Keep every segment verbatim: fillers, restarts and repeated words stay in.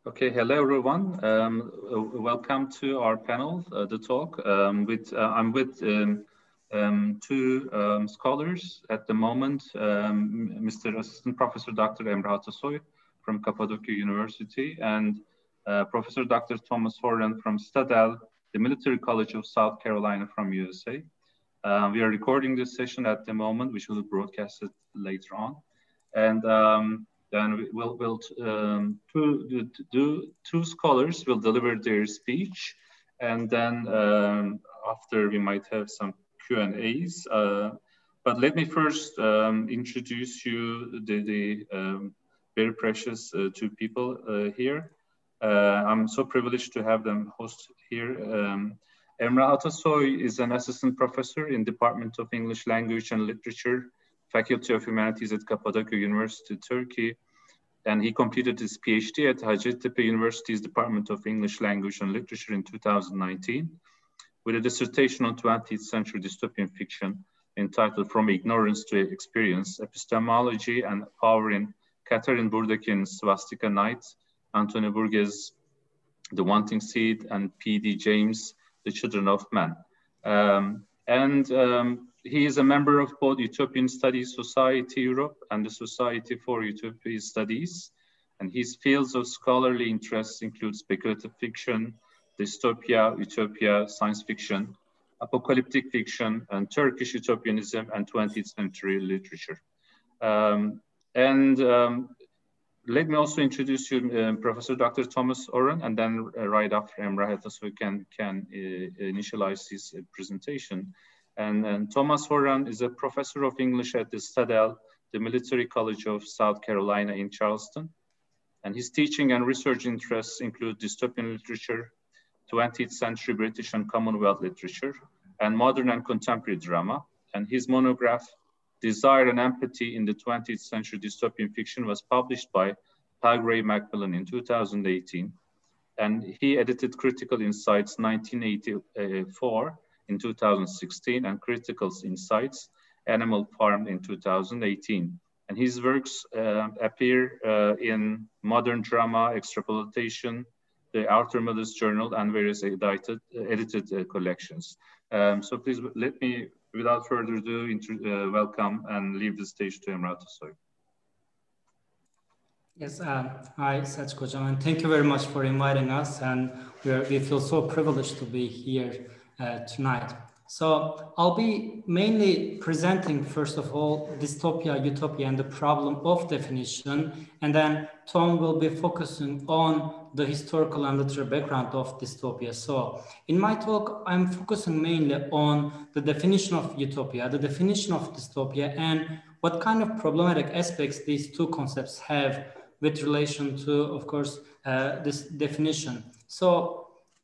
Okay, hello everyone. Um, uh, welcome to our panel, uh, the talk. Um, with uh, I'm with um, um, two um, scholars at the moment. Um, Mister Assistant Professor Doctor Emre Atasoy from Cappadocia University and uh, Professor Doctor Thomas Horan from Stadel, the Military College of South Carolina from U S A. Uh, we are recording this session at the moment. We should broadcast it later on, and. Um, Then we'll, we'll um, two, do, do, two scholars will deliver their speech, and then um, after we might have some Q and A's. Uh, but let me first um, introduce you the, the um, very precious uh, two people uh, here. Uh, I'm so privileged to have them host here. Um, Emre Atasoy is an assistant professor in Department of English Language and Literature, Faculty of Humanities at Cappadocia University, Turkey, and he completed his PhD at Hacettepe University's Department of English Language and Literature in two thousand nineteen, with a dissertation on twentieth century dystopian fiction entitled From Ignorance to Experience, Epistemology and Power in Catherine Burdekin's Swastika Night, Antonio Burgess' The Wanting Seed, and P D James' The Children of Men. Um, and um, he is a member of both Utopian Studies Society Europe and the Society for Utopian Studies. And his fields of scholarly interests include speculative fiction, dystopia, utopia, science fiction, apocalyptic fiction, and Turkish utopianism and twentieth century literature. Um, and um, let me also introduce you, uh, Professor Doctor Thomas Horan, and then uh, right after Emre Atasoy can, can uh, initialize his uh, presentation. And, and Thomas Horan is a professor of English at the Stadel, the Military College of South Carolina in Charleston. And his teaching and research interests include dystopian literature, twentieth century British and Commonwealth literature, and modern and contemporary drama. And his monograph, Desire and Empathy in the twentieth century Dystopian Fiction, was published by Palgrave Macmillan in two thousand eighteen. And he edited Critical Insights nineteen eighty-four in two thousand sixteen and Critical Insights Animal Farm in two thousand eighteen. And his works uh, appear uh, in Modern Drama, Extrapolation, the Arthur Miller's Journal, and various edited, uh, edited uh, collections. Um, so please let me, without further ado, uh, welcome and leave the stage to Emre Atasoy. Yes, uh, hi, Selçuk Hocam, and thank you very much for inviting us. And we, are, we feel so privileged to be here uh, tonight. So I'll be mainly presenting, first of all, dystopia, utopia, and the problem of definition. And then Tom will be focusing on the historical and literary background of dystopia. So in my talk, I'm focusing mainly on the definition of utopia, the definition of dystopia, and what kind of problematic aspects these two concepts have with relation to, of course, uh, this definition. So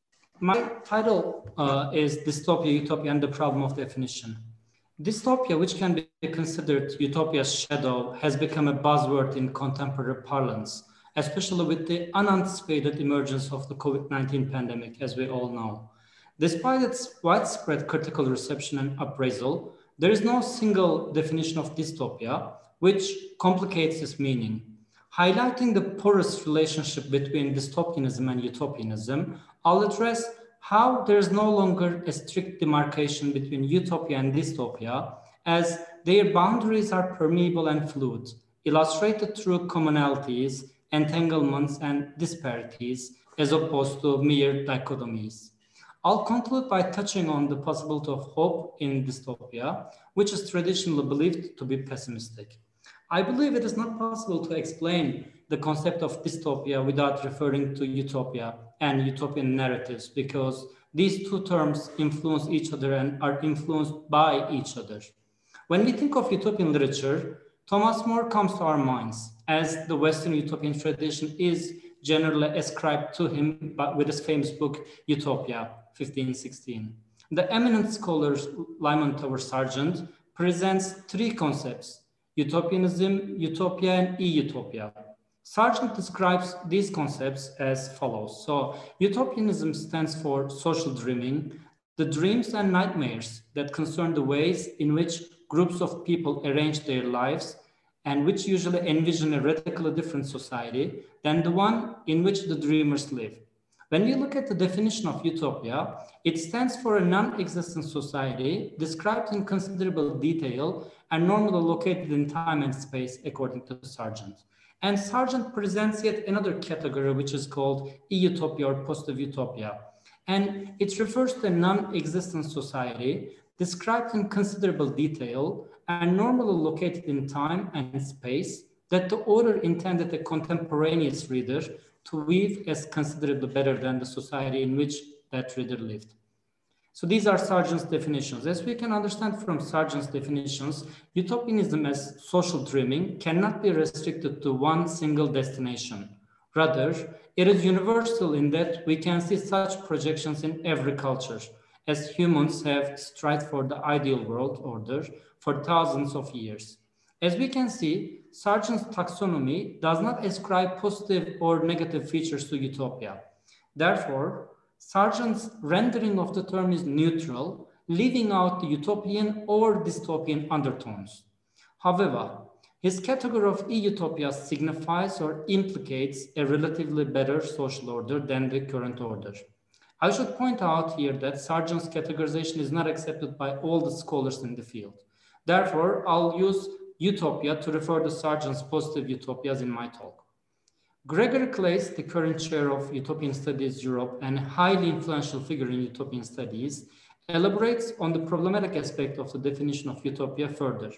my title uh, is Dystopia, Utopia, and the Problem of Definition. Dystopia, which can be considered utopia's shadow, has become a buzzword in contemporary parlance, especially with the unanticipated emergence of the COVID nineteen pandemic, as we all know. Despite its widespread critical reception and appraisal, there is no single definition of dystopia, which complicates its meaning. Highlighting the porous relationship between dystopianism and utopianism, I'll address how there is no longer a strict demarcation between utopia and dystopia, as their boundaries are permeable and fluid, illustrated through commonalities, entanglements, and disparities, as opposed to mere dichotomies. I'll conclude by touching on the possibility of hope in dystopia, which is traditionally believed to be pessimistic. I believe it is not possible to explain the concept of dystopia without referring to utopia and utopian narratives, because these two terms influence each other and are influenced by each other. When we think of utopian literature, Thomas More comes to our minds, as the Western utopian tradition is generally ascribed to him with his famous book, Utopia, fifteen sixteen. The eminent scholar Lyman Tower Sargent presents three concepts: utopianism, utopia, and e-utopia. Sargent describes these concepts as follows. So, utopianism stands for social dreaming, the dreams and nightmares that concern the ways in which groups of people arrange their lives and which usually envision a radically different society than the one in which the dreamers live. When we look at the definition of utopia, it stands for a non-existent society described in considerable detail and normally located in time and space, according to Sargent. And Sargent presents yet another category, which is called e-utopia or positive utopia. And it refers to a non-existent society described in considerable detail and normally located in time and space that the author intended a contemporaneous reader to weave as considerably better than the society in which that reader lived. So these are Sargent's definitions. As we can understand from Sargent's definitions, utopianism as social dreaming cannot be restricted to one single destination. Rather, it is universal in that we can see such projections in every culture, as humans have strived for the ideal world order for thousands of years. As we can see, Sargent's taxonomy does not ascribe positive or negative features to utopia. Therefore, Sargent's rendering of the term is neutral, leaving out the utopian or dystopian undertones. However, his category of e-utopia signifies or implicates a relatively better social order than the current order. I should point out here that Sargent's categorization is not accepted by all the scholars in the field. Therefore, I'll use utopia to refer to Sargent's positive utopias in my talk. Gregory Claes, the current chair of Utopian Studies Europe and a highly influential figure in utopian studies, elaborates on the problematic aspect of the definition of utopia further.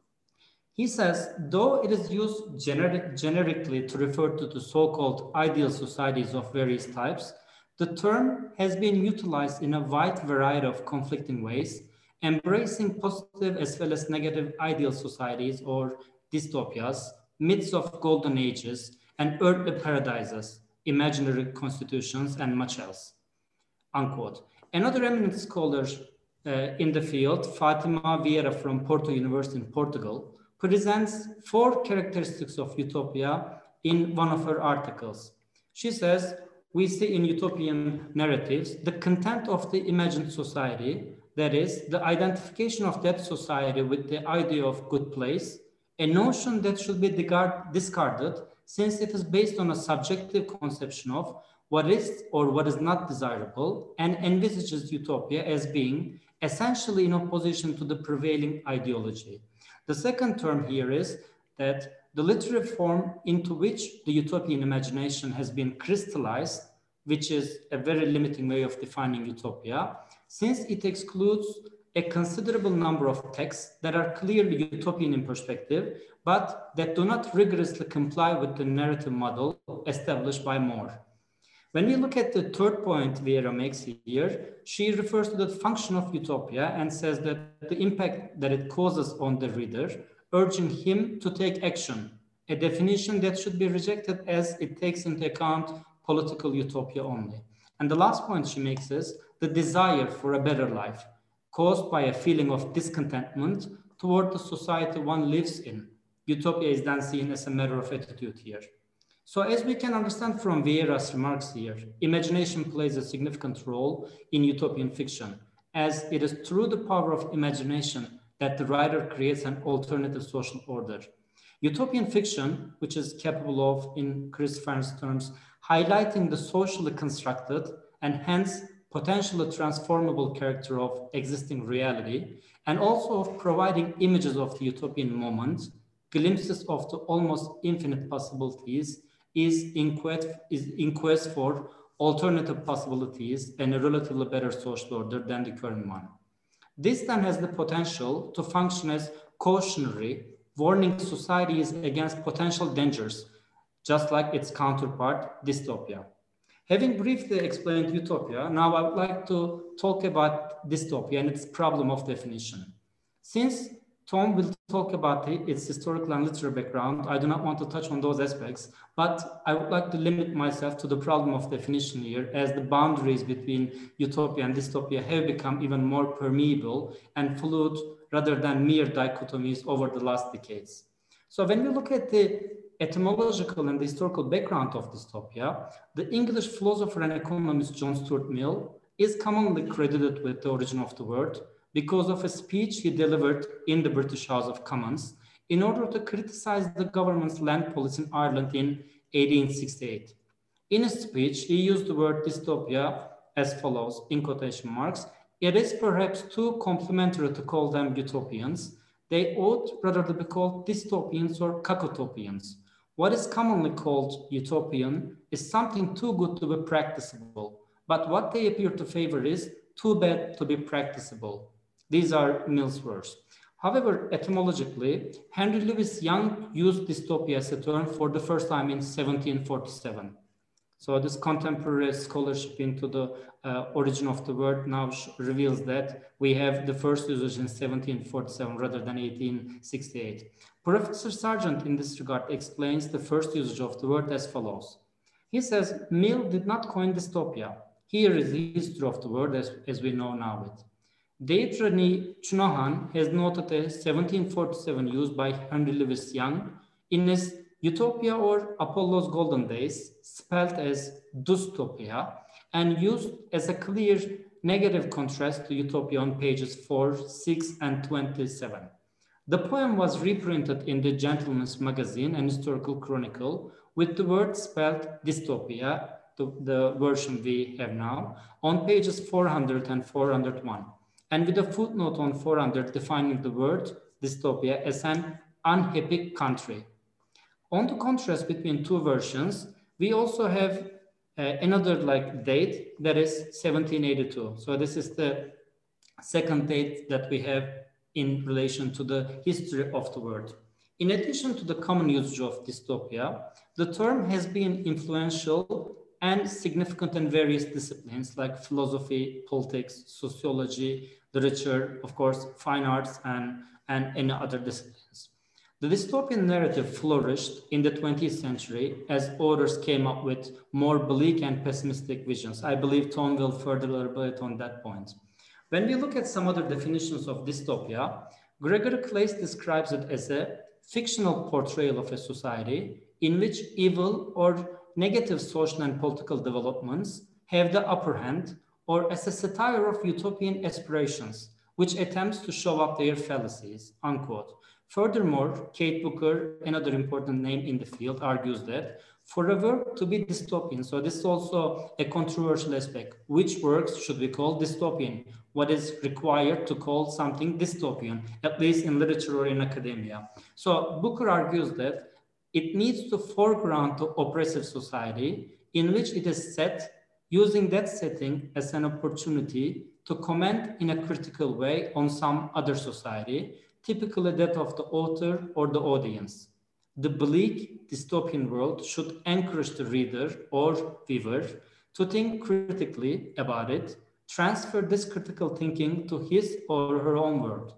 He says, though it is used generic, generically to refer to the so-called ideal societies of various types, the term has been utilized in a wide variety of conflicting ways, embracing positive as well as negative ideal societies or dystopias, myths of golden ages, and earthly paradises, imaginary constitutions, and much else, unquote. Another eminent scholar uh, in the field, Fatima Vieira from Porto University in Portugal, presents four characteristics of utopia in one of her articles. She says, we see in utopian narratives the content of the imagined society, that is, the identification of that society with the idea of good place, a notion that should be discarded since it is based on a subjective conception of what is or what is not desirable, and envisages utopia as being essentially in opposition to the prevailing ideology. The second term here is that the literary form into which the utopian imagination has been crystallized, which is a very limiting way of defining utopia, since it excludes a considerable number of texts that are clearly utopian in perspective, but that do not rigorously comply with the narrative model established by More. When we look at the third point Vieira makes here, she refers to the function of utopia and says that the impact that it causes on the reader, urging him to take action, a definition that should be rejected as it takes into account political utopia only. And the last point she makes is the desire for a better life, caused by a feeling of discontentment toward the society one lives in. Utopia is then seen as a matter of attitude here. So as we can understand from Vieira's remarks here, imagination plays a significant role in utopian fiction, as it is through the power of imagination that the writer creates an alternative social order. Utopian fiction, which is capable of, in Chris Fearn's terms, highlighting the socially constructed and hence potentially transformable character of existing reality, and also of providing images of the utopian moment, glimpses of the almost infinite possibilities, is in quest, is in quest for alternative possibilities and a relatively better social order than the current one. This then has the potential to function as cautionary, warning societies against potential dangers, just like its counterpart, dystopia. Having briefly explained utopia, now I would like to talk about dystopia and its problem of definition. Since Tom will talk about it, its historical and literary background, I do not want to touch on those aspects, but I would like to limit myself to the problem of definition here, as the boundaries between utopia and dystopia have become even more permeable and fluid rather than mere dichotomies over the last decades. So when we look at the etymological and the historical background of dystopia, the English philosopher and economist John Stuart Mill is commonly credited with the origin of the word because of a speech he delivered in the British House of Commons in order to criticize the government's land policy in Ireland in eighteen sixty-eight. In his speech, he used the word dystopia as follows, in quotation marks, "It is perhaps too complimentary to call them utopians. They ought rather to be called dystopians or cacotopians. What is commonly called utopian is something too good to be practicable, but what they appear to favor is too bad to be practicable." These are Mill's words. However, etymologically, Henry Louis Young used dystopia as a term for the first time in seventeen forty-seven. So this contemporary scholarship into the uh, origin of the word now reveals that we have the first usage in seventeen forty-seven rather than eighteen sixty-eight. Professor Sargent in this regard explains the first usage of the word as follows. He says, Mill did not coin dystopia. Here is the history of the word as, as we know now it. Deirdre Chunohan has noted a seventeen forty-seven use by Henry Louis Young in his Utopia or Apollo's Golden Days, spelled as dystopia, and used as a clear negative contrast to utopia on pages four, six, and twenty-seven. The poem was reprinted in the Gentleman's Magazine and Historical Chronicle with the word spelled dystopia, the, the version we have now, on pages four hundred and four hundred one, and with a footnote on four hundred defining the word dystopia as an unhappy country. On the contrast between two versions, we also have uh, another like date that is seventeen eighty-two. So this is the second date that we have in relation to the history of the word. In addition to the common usage of dystopia, the term has been influential and significant in various disciplines like philosophy, politics, sociology, literature, of course, fine arts, and, and any other disciplines. The dystopian narrative flourished in the twentieth century as authors came up with more bleak and pessimistic visions. I believe Tom will further elaborate on that point. When we look at some other definitions of dystopia, Gregory Claes describes it as a fictional portrayal of a society in which evil or negative social and political developments have the upper hand, or as a satire of utopian aspirations, which attempts to show up their fallacies, unquote. Furthermore, Kate Booker, another important name in the field, argues that for a work to be dystopian, so this is also a controversial aspect, which works should we call dystopian? What is required to call something dystopian, at least in literature or in academia? So Booker argues that it needs to foreground the oppressive society in which it is set, using that setting as an opportunity to comment in a critical way on some other society, typically that of the author or the audience. The bleak dystopian world should encourage the reader or viewer to think critically about it, transfer this critical thinking to his or her own world.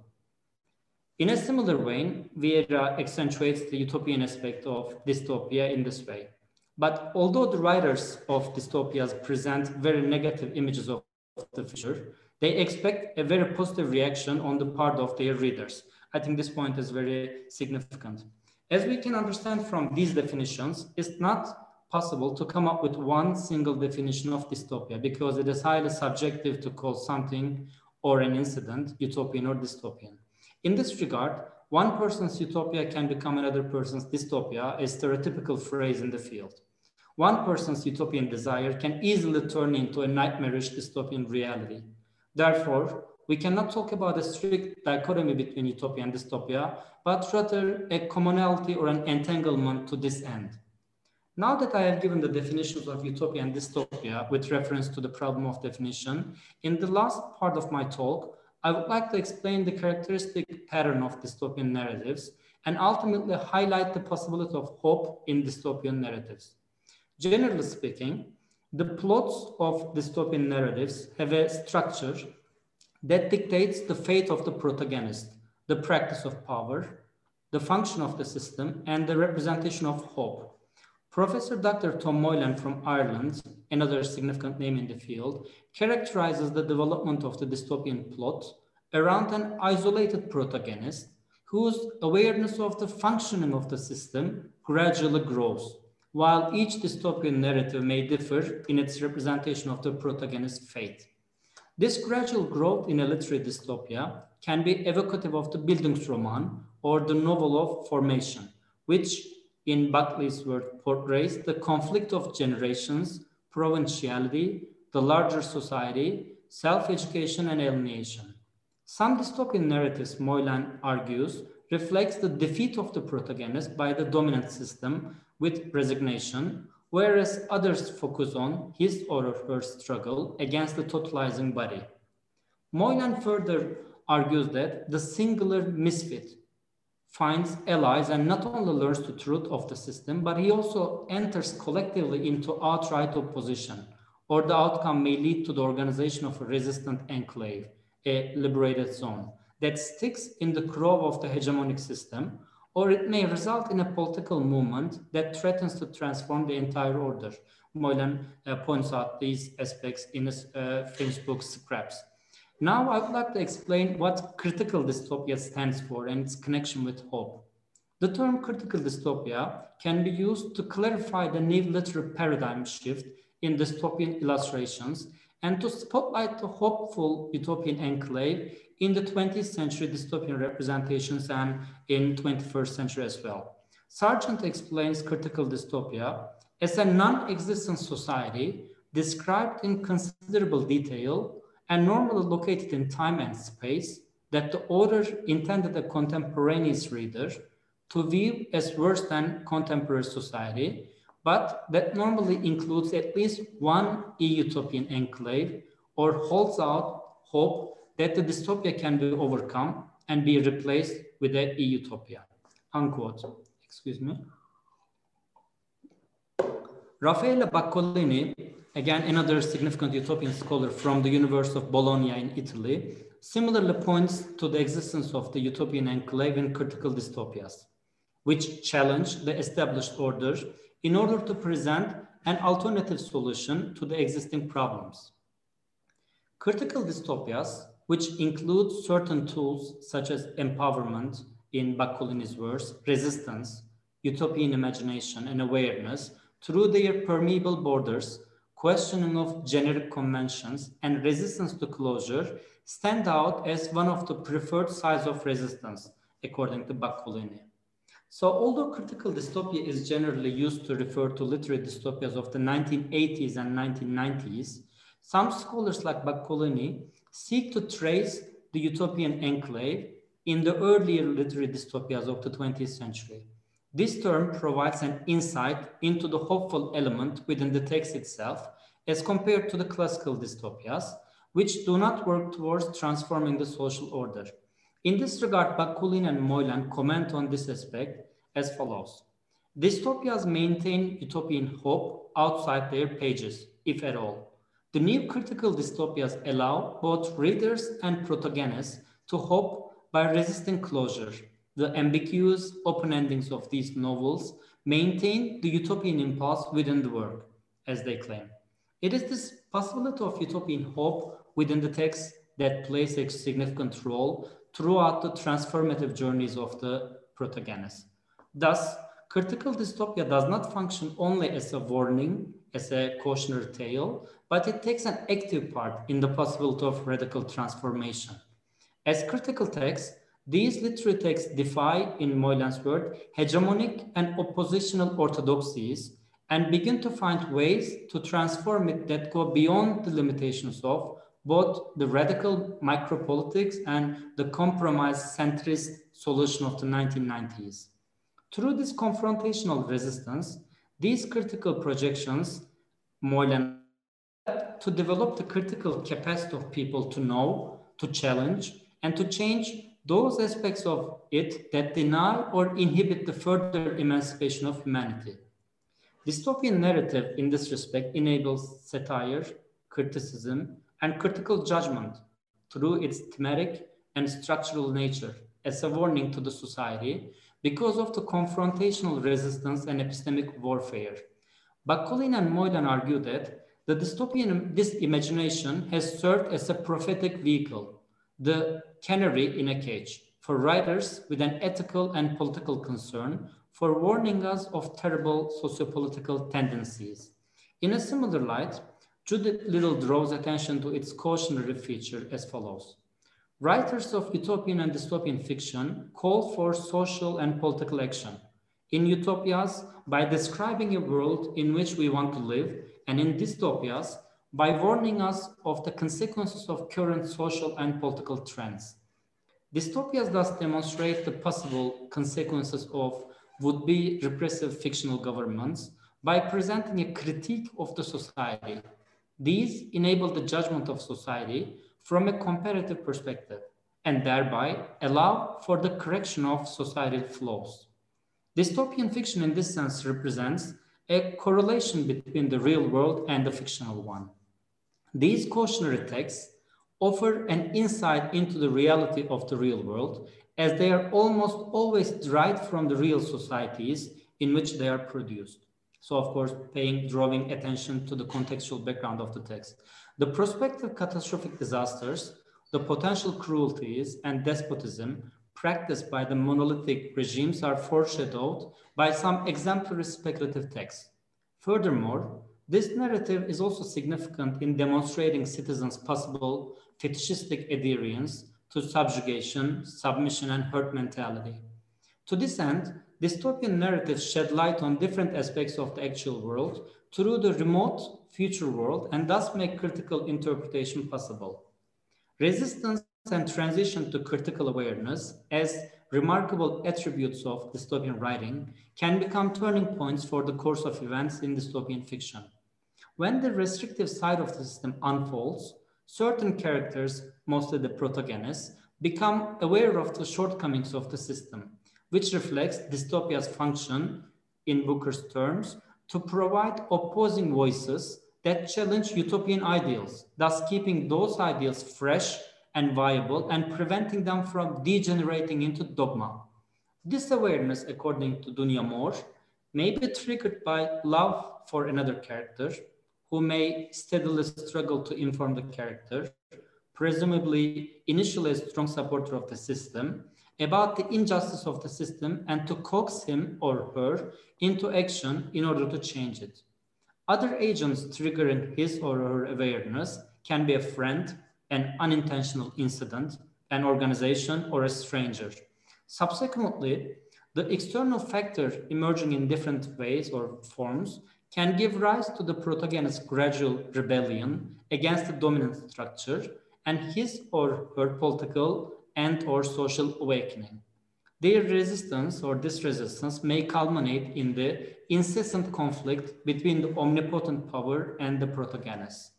In a similar vein, Vieira accentuates the utopian aspect of dystopia in this way. But although the writers of dystopias present very negative images of the future, they expect a very positive reaction on the part of their readers. I think this point is very significant. As we can understand from these definitions, it's not possible to come up with one single definition of dystopia because it is highly subjective to call something or an incident utopian or dystopian. In this regard, one person's utopia can become another person's dystopia, a stereotypical phrase in the field. One person's utopian desire can easily turn into a nightmarish dystopian reality. Therefore, we cannot talk about a strict dichotomy between utopia and dystopia, but rather a commonality or an entanglement to this end. Now that I have given the definitions of utopia and dystopia with reference to the problem of definition, in the last part of my talk, I would like to explain the characteristic pattern of dystopian narratives and ultimately highlight the possibility of hope in dystopian narratives. Generally speaking, the plots of dystopian narratives have a structure that dictates the fate of the protagonist, the practice of power, the function of the system, and the representation of hope. Professor Doctor Tom Moylan from Ireland, another significant name in the field, characterizes the development of the dystopian plot around an isolated protagonist whose awareness of the functioning of the system gradually grows, while each dystopian narrative may differ in its representation of the protagonist's fate. This gradual growth in a literary dystopia can be evocative of the Bildungsroman, or the novel of formation, which in Buckley's work portrays the conflict of generations, provinciality, the larger society, self-education, and alienation. Some dystopian narratives, Moylan argues, reflects the defeat of the protagonist by the dominant system with resignation, whereas others focus on his or her struggle against the totalizing body. Moylan further argues that the singular misfit finds allies and not only learns the truth of the system, but he also enters collectively into outright opposition, or the outcome may lead to the organization of a resistant enclave, a liberated zone, that sticks in the crow of the hegemonic system, or it may result in a political movement that threatens to transform the entire order. Moylan uh, points out these aspects in his uh, French book, Scraps. Now I would like to explain what critical dystopia stands for and its connection with hope. The term critical dystopia can be used to clarify the new literary paradigm shift in dystopian illustrations and to spotlight the hopeful utopian enclave in the twentieth century dystopian representations and in twenty-first century as well. Sargent explains critical dystopia as a non-existent society described in considerable detail and normally located in time and space that the author intended a contemporaneous reader to view as worse than contemporary society, but that normally includes at least one e-utopian enclave or holds out hope that the dystopia can be overcome and be replaced with an e-utopia, unquote. Excuse me. Raffaele Baccolini, again, another significant utopian scholar from the University of Bologna in Italy, similarly points to the existence of the utopian enclave in critical dystopias, which challenge the established order in order to present an alternative solution to the existing problems. Critical dystopias, which include certain tools such as empowerment, in Baccolini's words, resistance, utopian imagination, and awareness, through their permeable borders, questioning of generic conventions, and resistance to closure, stand out as one of the preferred sides of resistance, according to Baccolini. So although critical dystopia is generally used to refer to literary dystopias of the nineteen eighties and nineteen nineties, some scholars like Baccolini seek to trace the utopian enclave in the earlier literary dystopias of the twentieth century. This term provides an insight into the hopeful element within the text itself as compared to the classical dystopias, which do not work towards transforming the social order. In this regard, Baccolini and Moylan comment on this aspect as follows. Dystopias maintain utopian hope outside their pages, if at all. The new critical dystopias allow both readers and protagonists to hope by resisting closure. The ambiguous open endings of these novels maintain the utopian impulse within the work, as they claim. It is this possibility of utopian hope within the text that plays a significant role throughout the transformative journeys of the protagonist. Thus, critical dystopia does not function only as a warning, as a cautionary tale, but it takes an active part in the possibility of radical transformation. As critical texts, these literary texts defy, in Moylan's word, hegemonic and oppositional orthodoxies and begin to find ways to transform it that go beyond the limitations of both the radical micropolitics and the compromise centrist solution of the nineteen nineties. Through this confrontational resistance, these critical projections, Moylan, to develop the critical capacity of people to know, to challenge, and to change those aspects of it that deny or inhibit the further emancipation of humanity. Dystopian narrative in this respect enables satire, criticism, and critical judgment through its thematic and structural nature as a warning to the society because of the confrontational resistance and epistemic warfare. Baccolini and Moylan argue that the dystopian this imagination has served as a prophetic vehicle, the canary in a cage, for writers with an ethical and political concern for warning us of terrible sociopolitical tendencies. In a similar light, Judith Little draws attention to its cautionary feature as follows. Writers of utopian and dystopian fiction call for social and political action. In utopias, by describing a world in which we want to live, and in dystopias, by warning us of the consequences of current social and political trends. Dystopias thus demonstrate the possible consequences of would-be repressive fictional governments by presenting a critique of the society. These enable the judgment of society from a comparative perspective and thereby allow for the correction of societal flaws. Dystopian fiction in this sense represents a correlation between the real world and the fictional one. These cautionary texts offer an insight into the reality of the real world, as they are almost always derived from the real societies in which they are produced. So, of course, paying, drawing attention to the contextual background of the text. The prospective catastrophic disasters, the potential cruelties and despotism practiced by the monolithic regimes are foreshadowed by some exemplary speculative texts. Furthermore, this narrative is also significant in demonstrating citizens' possible fetishistic adherence to subjugation, submission, and herd mentality. To this end, dystopian narratives shed light on different aspects of the actual world through the remote future world and thus make critical interpretation possible. Resistance and transition to critical awareness as remarkable attributes of dystopian writing can become turning points for the course of events in dystopian fiction. When the restrictive side of the system unfolds, certain characters, mostly the protagonists, become aware of the shortcomings of the system, which reflects dystopia's function, in Booker's terms, to provide opposing voices that challenge utopian ideals, thus keeping those ideals fresh and viable and preventing them from degenerating into dogma. This awareness, according to Dunya Moore, may be triggered by love for another character, who may steadily struggle to inform the character, presumably initially a strong supporter of the system, about the injustice of the system and to coax him or her into action in order to change it. Other agents triggering his or her awareness can be a friend, an unintentional incident, an organization, or a stranger. Subsequently, the external factor emerging in different ways or forms can give rise to the protagonist's gradual rebellion against the dominant structure and his or her political and or social awakening. Their resistance or this resistance may culminate in the incessant conflict between the omnipotent power and the protagonist.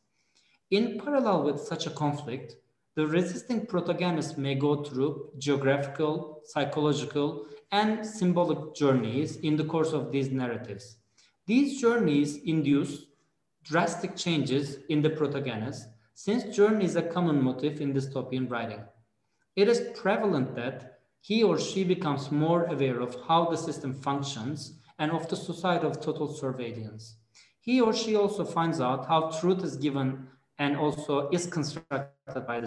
In parallel with such a conflict, the resisting protagonist may go through geographical, psychological, and symbolic journeys in the course of these narratives. These journeys induce drastic changes in the protagonist, since journey is a common motif in dystopian writing. It is prevalent that he or she becomes more aware of how the system functions and of the society of total surveillance. He or she also finds out how truth is given and also is constructed by the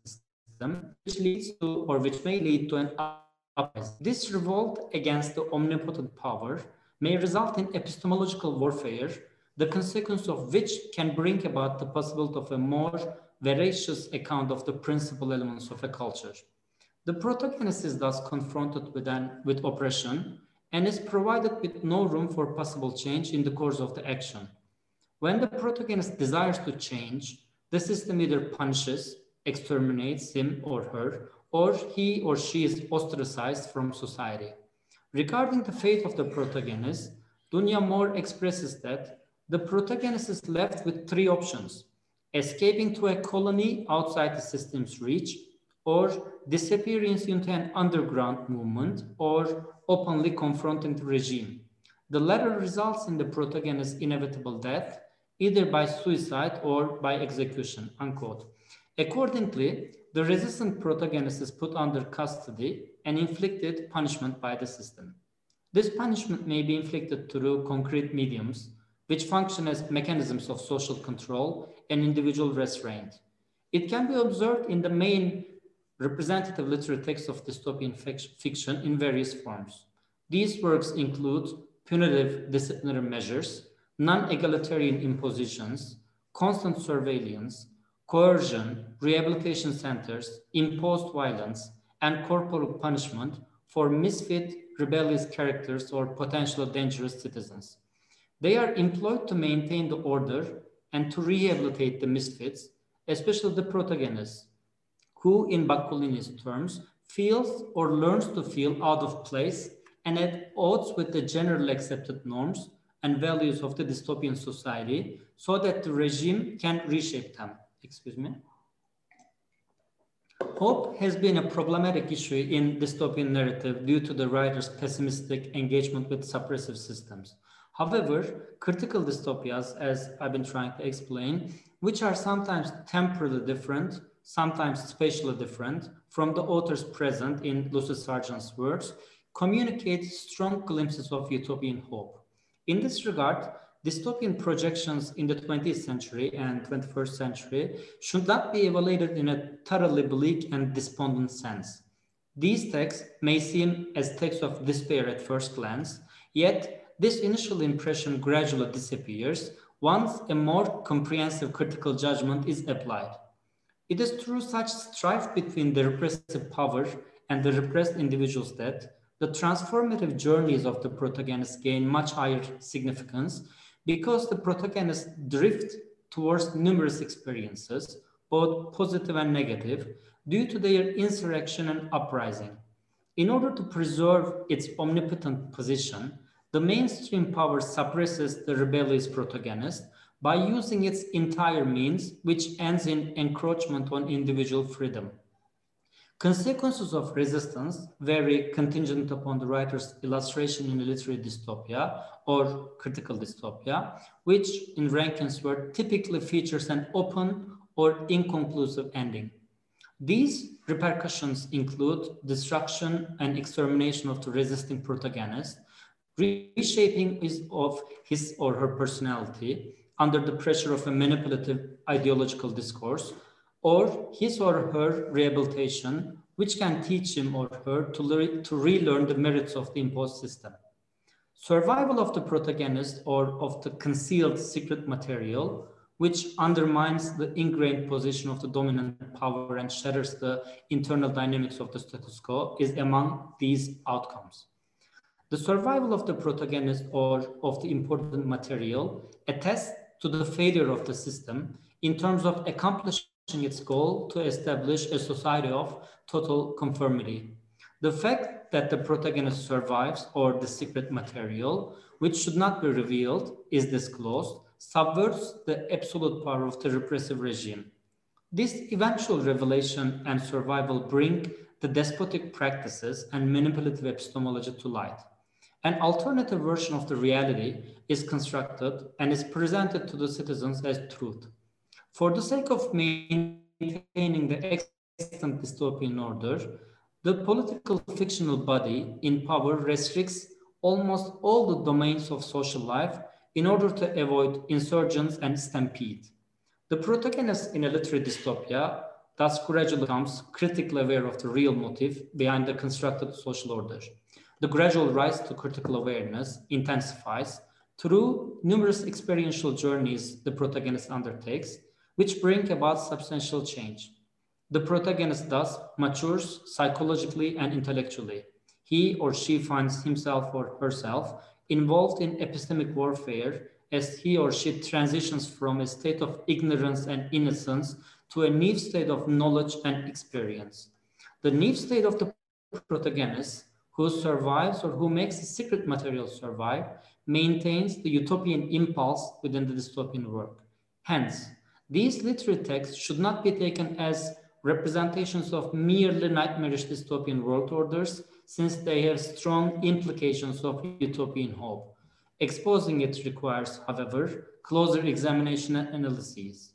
system, which leads to, or which may lead to an uprising. This revolt against the omnipotent power may result in epistemological warfare, the consequence of which can bring about the possibility of a more veracious account of the principal elements of a culture. The protagonist is thus confronted with, an, with oppression and is provided with no room for possible change in the course of the action. When the protagonist desires to change, the system either punishes, exterminates him or her, or he or she is ostracized from society. Regarding the fate of the protagonist, Dunya Moore expresses that the protagonist is left with three options: escaping to a colony outside the system's reach, or disappearing into an underground movement, or openly confronting the regime. The latter results in the protagonist's inevitable death, either by suicide or by execution, unquote. Accordingly, the resistant protagonist is put under custody and inflicted punishment by the system. This punishment may be inflicted through concrete mediums, which function as mechanisms of social control and individual restraint. It can be observed in the main representative literary texts of dystopian fiction in various forms. These works include punitive disciplinary measures, non-egalitarian impositions, constant surveillance, coercion, rehabilitation centers, imposed violence, and corporal punishment for misfit, rebellious characters or potentially dangerous citizens. They are employed to maintain the order and to rehabilitate the misfits, especially the protagonists, who, in Bakunin's terms, feels or learns to feel out of place and at odds with the generally accepted norms and values of the dystopian society, so that the regime can reshape them. Excuse me. Hope has been a problematic issue in dystopian narrative due to the writer's pessimistic engagement with suppressive systems. However, critical dystopias, as I've been trying to explain, which are sometimes temporally different, sometimes spatially different from the author's present in Lucy Sargent's works, communicate strong glimpses of utopian hope. In this regard, dystopian projections in the twentieth century and twenty-first century should not be evaluated in a thoroughly bleak and despondent sense. These texts may seem as texts of despair at first glance, yet this initial impression gradually disappears once a more comprehensive critical judgment is applied. It is through such strife between the repressive power and the repressed individuals that the transformative journeys of the protagonists gain much higher significance, because the protagonists drift towards numerous experiences, both positive and negative, due to their insurrection and uprising. In order to preserve its omnipotent position, the mainstream power suppresses the rebellious protagonist by using its entire means, which ends in encroachment on individual freedom. Consequences of resistance vary contingent upon the writer's illustration in a literary dystopia or critical dystopia, which in Rankin's work typically features an open or inconclusive ending. These repercussions include destruction and extermination of the resisting protagonist, reshaping his, of his or her personality under the pressure of a manipulative ideological discourse, or his or her rehabilitation, which can teach him or her to, le to relearn the merits of the imposed system. Survival of the protagonist or of the concealed secret material, which undermines the ingrained position of the dominant power and shatters the internal dynamics of the status quo, is among these outcomes. The survival of the protagonist or of the important material attests to the failure of the system in terms of accomplishing its goal to establish a society of total conformity. The fact that the protagonist survives or the secret material, which should not be revealed, is disclosed, subverts the absolute power of the repressive regime. This eventual revelation and survival bring the despotic practices and manipulative epistemology to light. An alternative version of the reality is constructed and is presented to the citizens as truth. For the sake of maintaining the extant dystopian order, the political fictional body in power restricts almost all the domains of social life in order to avoid insurgents and stampede. The protagonist in a literary dystopia thus gradually becomes critically aware of the real motive behind the constructed social order. The gradual rise to critical awareness intensifies through numerous experiential journeys the protagonist undertakes, which bring about substantial change. The protagonist thus matures psychologically and intellectually. He or she finds himself or herself involved in epistemic warfare as he or she transitions from a state of ignorance and innocence to a new state of knowledge and experience. The new state of the protagonist, who survives or who makes the secret material survive, maintains the utopian impulse within the dystopian work. Hence, these literary texts should not be taken as representations of merely nightmarish dystopian world orders, since they have strong implications of utopian hope. Exposing it requires, however, closer examination and analyses.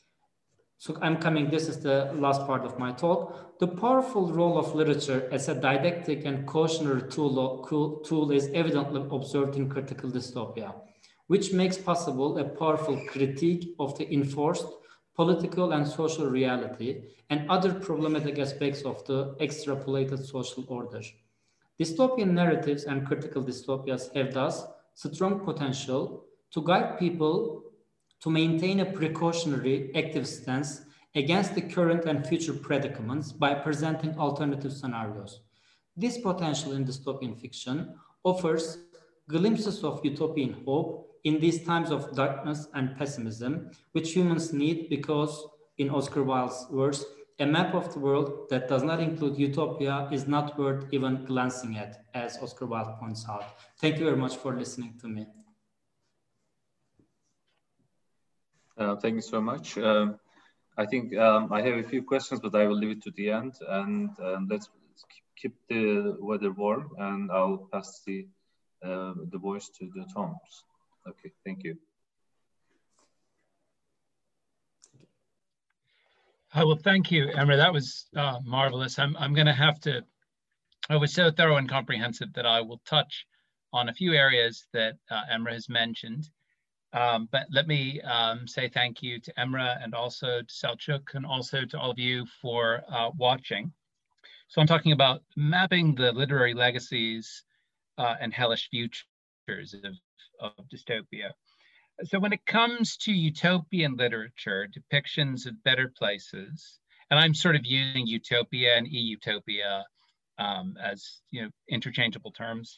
So I'm coming, this is the last part of my talk. The powerful role of literature as a didactic and cautionary tool, tool is evidently observed in critical dystopia, which makes possible a powerful critique of the enforced political and social reality and other problematic aspects of the extrapolated social order. Dystopian narratives and critical dystopias have thus strong potential to guide people to maintain a precautionary, active stance against the current and future predicaments by presenting alternative scenarios. This potential in dystopian fiction offers glimpses of utopian hope in these times of darkness and pessimism, which humans need because, in Oscar Wilde's words, a map of the world that does not include utopia is not worth even glancing at, as Oscar Wilde points out. Thank you very much for listening to me. Uh, thank you so much. Um, I think um, I have a few questions, but I will leave it to the end. And um, let's keep the weather warm, and I'll pass the uh, the voice to the Toms. Okay, thank you. Oh, well, thank you, Emre. That was uh, marvelous. I'm, I'm going to have to, I was so thorough and comprehensive that I will touch on a few areas that uh, Emre has mentioned. Um, but let me um, say thank you to Emre and also to Selçuk and also to all of you for uh, watching. So I'm talking about mapping the literary legacies uh, and hellish futures of, of dystopia. So when it comes to utopian literature, depictions of better places, and I'm sort of using utopia and e-utopia um, as you know interchangeable terms,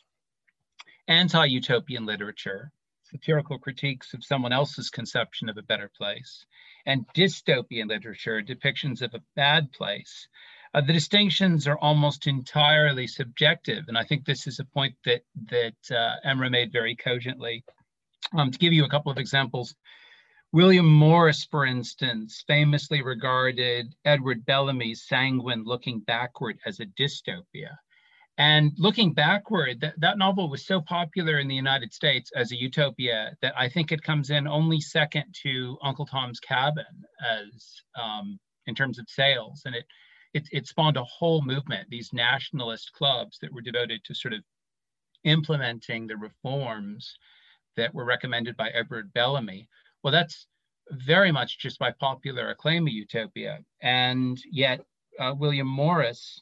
anti-utopian literature, satirical critiques of someone else's conception of a better place, and dystopian literature, depictions of a bad place, uh, the distinctions are almost entirely subjective. And I think this is a point that, that uh, Emre made very cogently. Um, to give you a couple of examples, William Morris, for instance, famously regarded Edward Bellamy's Sanguine Looking Backward as a dystopia. And looking backward, that, that novel was so popular in the United States as a utopia that I think it comes in only second to Uncle Tom's Cabin as um, in terms of sales. And it, it, it spawned a whole movement, these nationalist clubs that were devoted to sort of implementing the reforms that were recommended by Edward Bellamy. Well, that's very much just by popular acclaim a utopia. And yet uh, William Morris,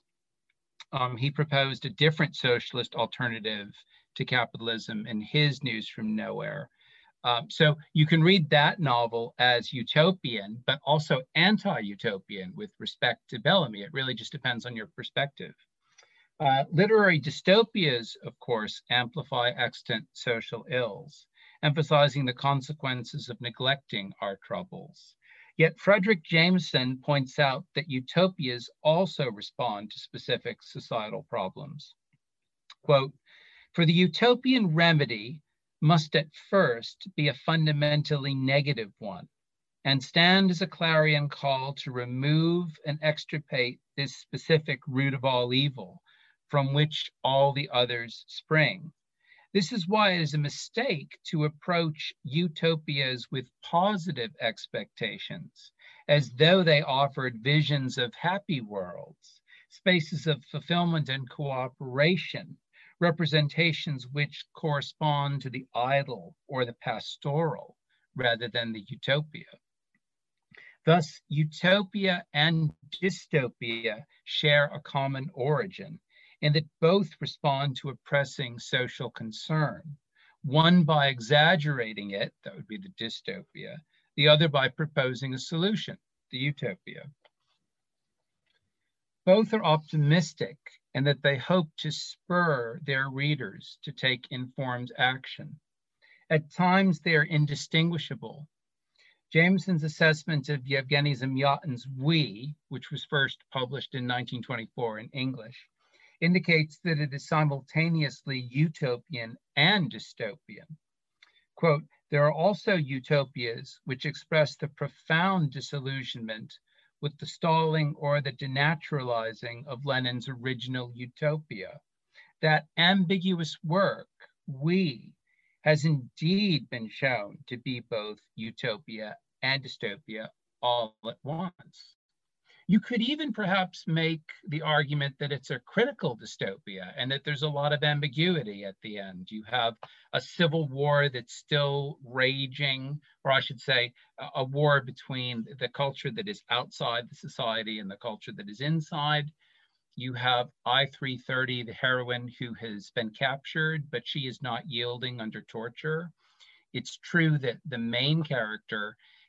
um, he proposed a different socialist alternative to capitalism in his News from Nowhere. Um, so you can read that novel as utopian, but also anti-utopian with respect to Bellamy. It really just depends on your perspective. Uh, literary dystopias, of course, amplify extant social ills, emphasizing the consequences of neglecting our troubles. Yet Fredric Jameson points out that utopias also respond to specific societal problems. Quote, "For the utopian remedy must at first be a fundamentally negative one, and stand as a clarion call to remove and extirpate this specific root of all evil, from which all the others spring. This is why it is a mistake to approach utopias with positive expectations, as though they offered visions of happy worlds, spaces of fulfillment and cooperation, representations which correspond to the idle or the pastoral rather than the utopia. Thus, utopia and dystopia share a common origin, in that both respond to a pressing social concern, one by exaggerating it, that would be the dystopia, the other by proposing a solution, the utopia. Both are optimistic in that they hope to spur their readers to take informed action. At times, they are indistinguishable. Jameson's assessment of Yevgeny Zamyatin's We, which was first published in nineteen twenty-four in English, indicates that it is simultaneously utopian and dystopian. Quote, "There are also utopias which express the profound disillusionment with the stalling or the denaturalizing of Lenin's original utopia. That ambiguous work, We, has indeed been shown to be both utopia and dystopia all at once." You could even perhaps make the argument that it's a critical dystopia and that there's a lot of ambiguity at the end. You have a civil war that's still raging, or I should say, a, a war between the culture that is outside the society and the culture that is inside. You have I three thirty, the heroine who has been captured, but she is not yielding under torture. It's true that the main character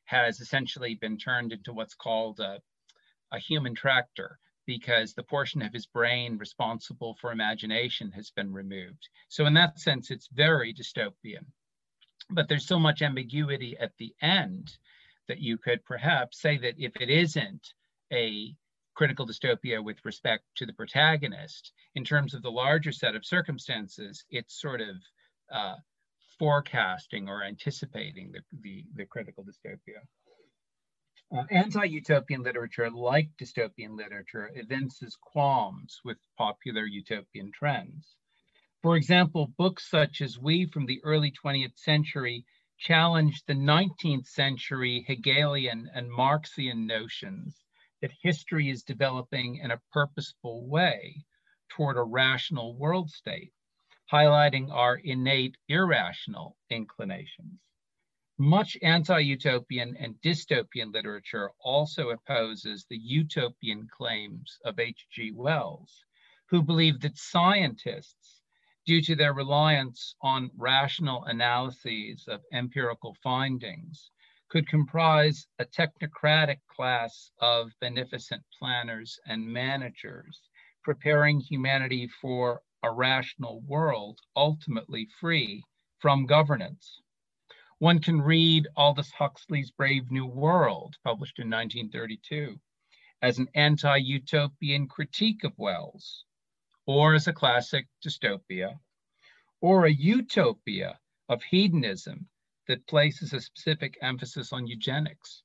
has essentially been turned into what's called a, a human tractor, because the portion of his brain responsible for imagination has been removed. So in that sense, it's very dystopian. But there's so much ambiguity at the end that you could perhaps say that if it isn't a critical dystopia with respect to the protagonist, in terms of the larger set of circumstances, it's sort of uh, forecasting or anticipating the, the, the critical dystopia. Uh, anti-utopian literature, like dystopian literature, evinces qualms with popular utopian trends. For example, books such as We from the early twentieth century challenged the nineteenth century Hegelian and Marxian notions that history is developing in a purposeful way toward a rational world state, highlighting our innate irrational inclinations. Much anti-utopian and dystopian literature also opposes the utopian claims of H G Wells, who believed that scientists, due to their reliance on rational analyses of empirical findings, could comprise a technocratic class of beneficent planners and managers, preparing humanity for a rational world ultimately free from governance. One can read Aldous Huxley's Brave New World, published in nineteen thirty-two, as an anti-utopian critique of Wells, or as a classic dystopia, or a utopia of hedonism that places a specific emphasis on eugenics.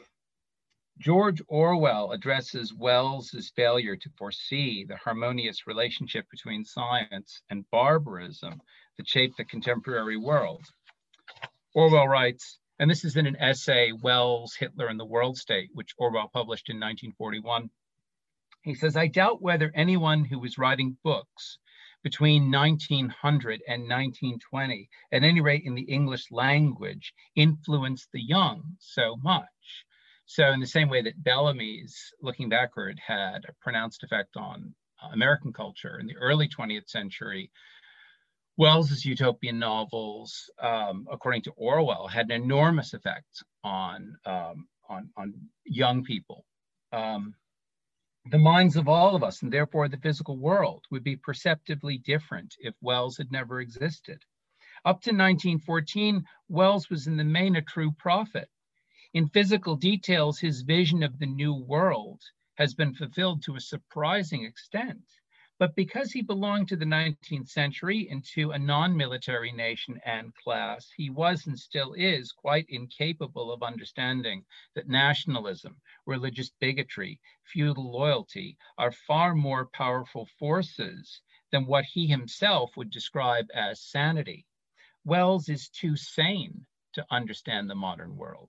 George Orwell addresses Wells's failure to foresee the harmonious relationship between science and barbarism that shaped the contemporary world. Orwell writes, and this is in an essay, Wells, Hitler, and the World State, which Orwell published in nineteen forty-one. He says, I doubt whether anyone who was writing books between nineteen hundred and nineteen twenty, at any rate in the English language, influenced the young so much. So in the same way that Bellamy's, looking backward, had a pronounced effect on American culture in the early twentieth century, Wells's utopian novels, um, according to Orwell, had an enormous effect on, um, on, on young people. Um, the minds of all of us, and therefore the physical world, would be perceptibly different if Wells had never existed. Up to nineteen fourteen, Wells was in the main a true prophet. In physical details, his vision of the new world has been fulfilled to a surprising extent. But because he belonged to the nineteenth century and to a non-military nation and class, he was and still is quite incapable of understanding that nationalism, religious bigotry, feudal loyalty are far more powerful forces than what he himself would describe as sanity. Wells is too sane to understand the modern world.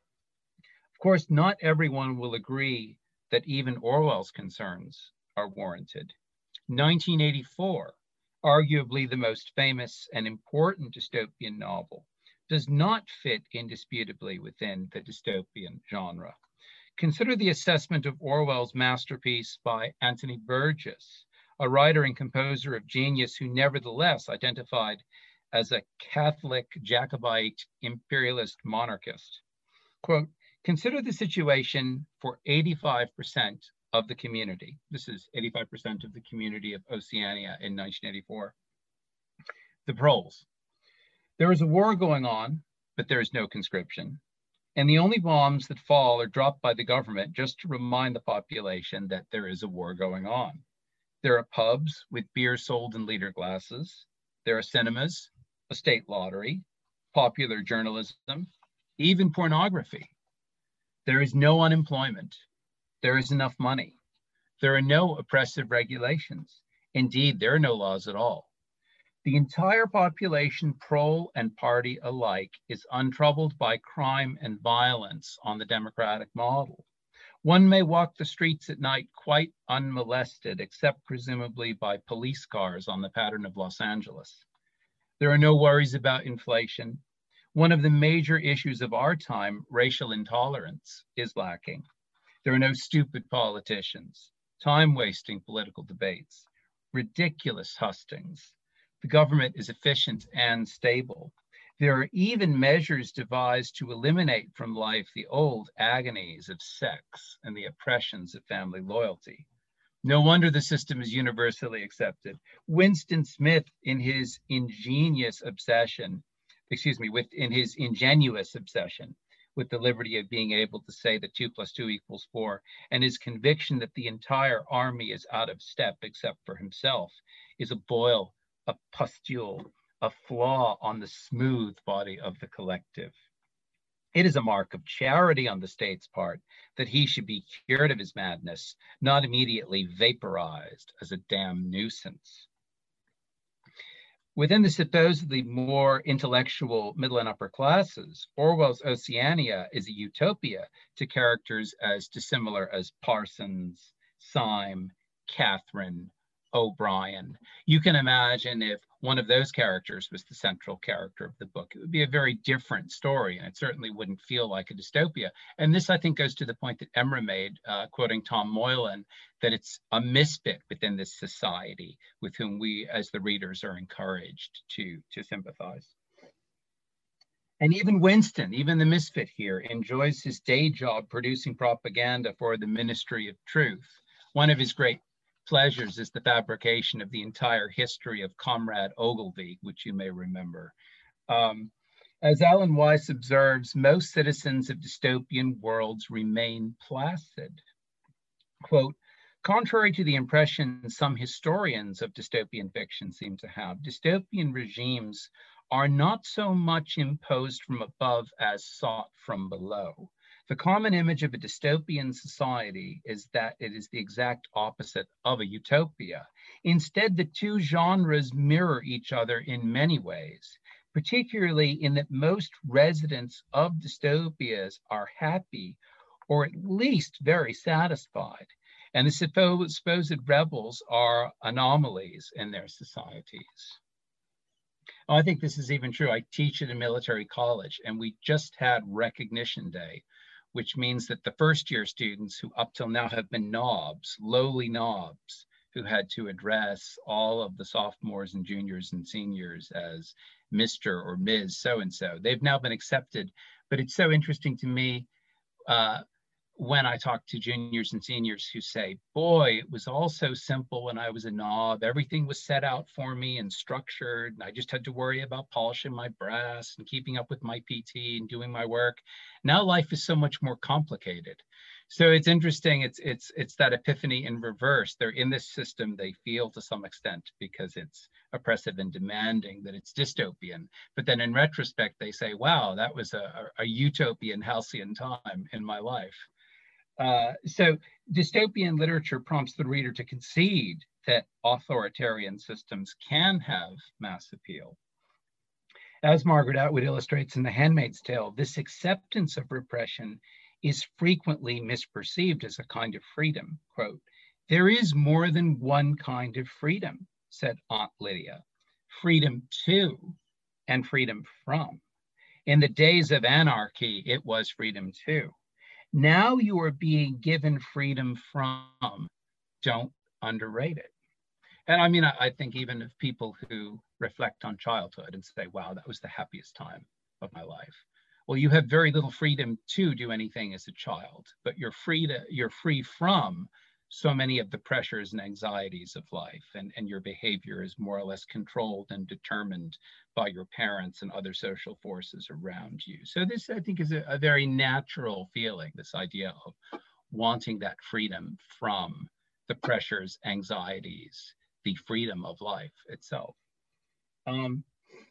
Of course, not everyone will agree that even Orwell's concerns are warranted. nineteen eighty-four, arguably the most famous and important dystopian novel, does not fit indisputably within the dystopian genre. Consider the assessment of Orwell's masterpiece by Anthony Burgess, a writer and composer of genius who nevertheless identified as a Catholic Jacobite imperialist monarchist. Quote, consider the situation for eighty-five percent of the community. This is eighty-five percent of the community of Oceania in nineteen eighty-four. The proles. There is a war going on, but there is no conscription. And the only bombs that fall are dropped by the government just to remind the population that there is a war going on. There are pubs with beer sold in liter glasses. There are cinemas, a state lottery, popular journalism, even pornography. There is no unemployment. There is enough money. There are no oppressive regulations. Indeed, there are no laws at all. The entire population, prole and party alike, is untroubled by crime and violence on the democratic model. One may walk the streets at night quite unmolested, except presumably by police cars on the pattern of Los Angeles. There are no worries about inflation. One of the major issues of our time, racial intolerance, is lacking. There are no stupid politicians, time-wasting political debates, ridiculous hustings. The government is efficient and stable. There are even measures devised to eliminate from life the old agonies of sex and the oppressions of family loyalty. No wonder the system is universally accepted. Winston Smith, in his ingenious obsession, excuse me, with in his ingenuous obsession with the liberty of being able to say that two plus two equals four, and his conviction that the entire army is out of step except for himself, is a boil, a pustule, a flaw on the smooth body of the collective. It is a mark of charity on the state's part that he should be cured of his madness, not immediately vaporized as a damn nuisance. Within the supposedly more intellectual middle and upper classes, Orwell's Oceania is a utopia to characters as dissimilar as Parsons, Syme, Catherine, O'Brien. You can imagine if one of those characters was the central character of the book, it would be a very different story, and it certainly wouldn't feel like a dystopia. And this, I think, goes to the point that Emre made, uh, quoting Tom Moylan, that it's a misfit within this society with whom we, as the readers, are encouraged to, to sympathize. And even Winston, even the misfit here, enjoys his day job producing propaganda for the Ministry of Truth. One of his great pleasures is the fabrication of the entire history of Comrade Ogilvy, which you may remember. Um, as Alan Weiss observes, most citizens of dystopian worlds remain placid. Quote, contrary to the impression some historians of dystopian fiction seem to have, dystopian regimes are not so much imposed from above as sought from below. The common image of a dystopian society is that it is the exact opposite of a utopia. Instead, the two genres mirror each other in many ways, particularly in that most residents of dystopias are happy, or at least very satisfied, and the supposed rebels are anomalies in their societies. I think this is even true. I teach at a military college, and we just had Recognition Day, which means that the first year students who up till now have been knobs, lowly knobs, who had to address all of the sophomores and juniors and seniors as Mister or Miz so-and-so, they've now been accepted. But it's so interesting to me uh, when I talk to juniors and seniors who say, boy, it was all so simple when I was a knob. Everything was set out for me and structured, and I just had to worry about polishing my brass and keeping up with my P T and doing my work. Now life is so much more complicated. So it's interesting, it's, it's, it's that epiphany in reverse. They're in this system, they feel to some extent, because it's oppressive and demanding, that it's dystopian. But then in retrospect, they say, wow, that was a, a, a utopian, halcyon time in my life. Uh, so dystopian literature prompts the reader to concede that authoritarian systems can have mass appeal. As Margaret Atwood illustrates in The Handmaid's Tale, this acceptance of repression is frequently misperceived as a kind of freedom. Quote, there is more than one kind of freedom, said Aunt Lydia. Freedom to and freedom from. In the days of anarchy, it was freedom to. Now you are being given freedom from. Don't underrate it. And I mean, I, I think even of people who reflect on childhood and say, wow, that was the happiest time of my life. Well, you have very little freedom to do anything as a child, but you're free to, you're free from so many of the pressures and anxieties of life, and, and your behavior is more or less controlled and determined by your parents and other social forces around you. So this, I think, is a, a very natural feeling, this idea of wanting that freedom from the pressures, anxieties, the freedom of life itself. Um,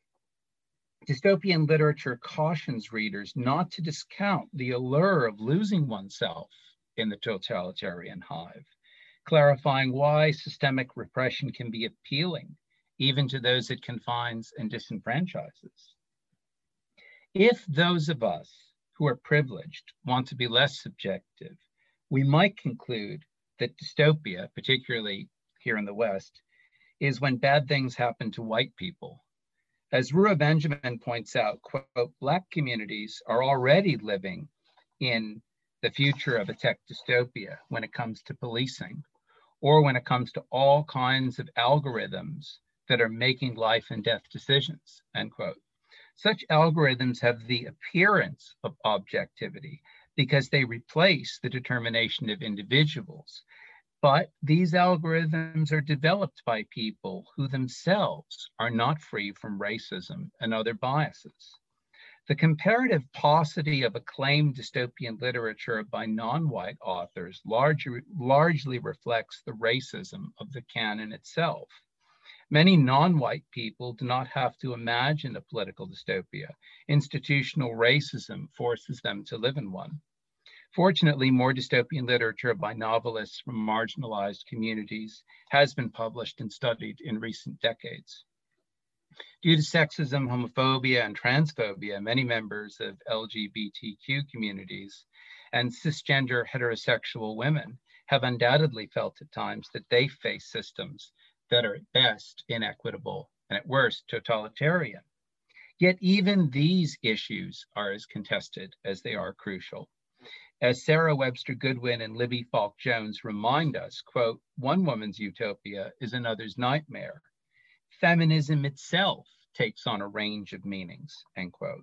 dystopian literature cautions readers not to discount the allure of losing oneself in the totalitarian hive, clarifying why systemic repression can be appealing even to those it confines and disenfranchises. If those of us who are privileged want to be less subjective, we might conclude that dystopia, particularly here in the West, is when bad things happen to white people. As Ruha Benjamin points out, quote, Black communities are already living in the future of a tech dystopia when it comes to policing, or when it comes to all kinds of algorithms that are making life and death decisions, end quote. Such algorithms have the appearance of objectivity because they replace the determination of individuals. But these algorithms are developed by people who themselves are not free from racism and other biases. The comparative paucity of acclaimed dystopian literature by non-white authors largely, largely reflects the racism of the canon itself. Many non-white people do not have to imagine a political dystopia. Institutional racism forces them to live in one. Fortunately, more dystopian literature by novelists from marginalized communities has been published and studied in recent decades. Due to sexism, homophobia, and transphobia, many members of L G B T Q communities and cisgender heterosexual women have undoubtedly felt at times that they face systems that are at best inequitable and at worst totalitarian. Yet even these issues are as contested as they are crucial. As Sarah Webster Goodwin and Libby Falk Jones remind us, quote, one woman's utopia is another's nightmare. Feminism itself takes on a range of meanings, end quote.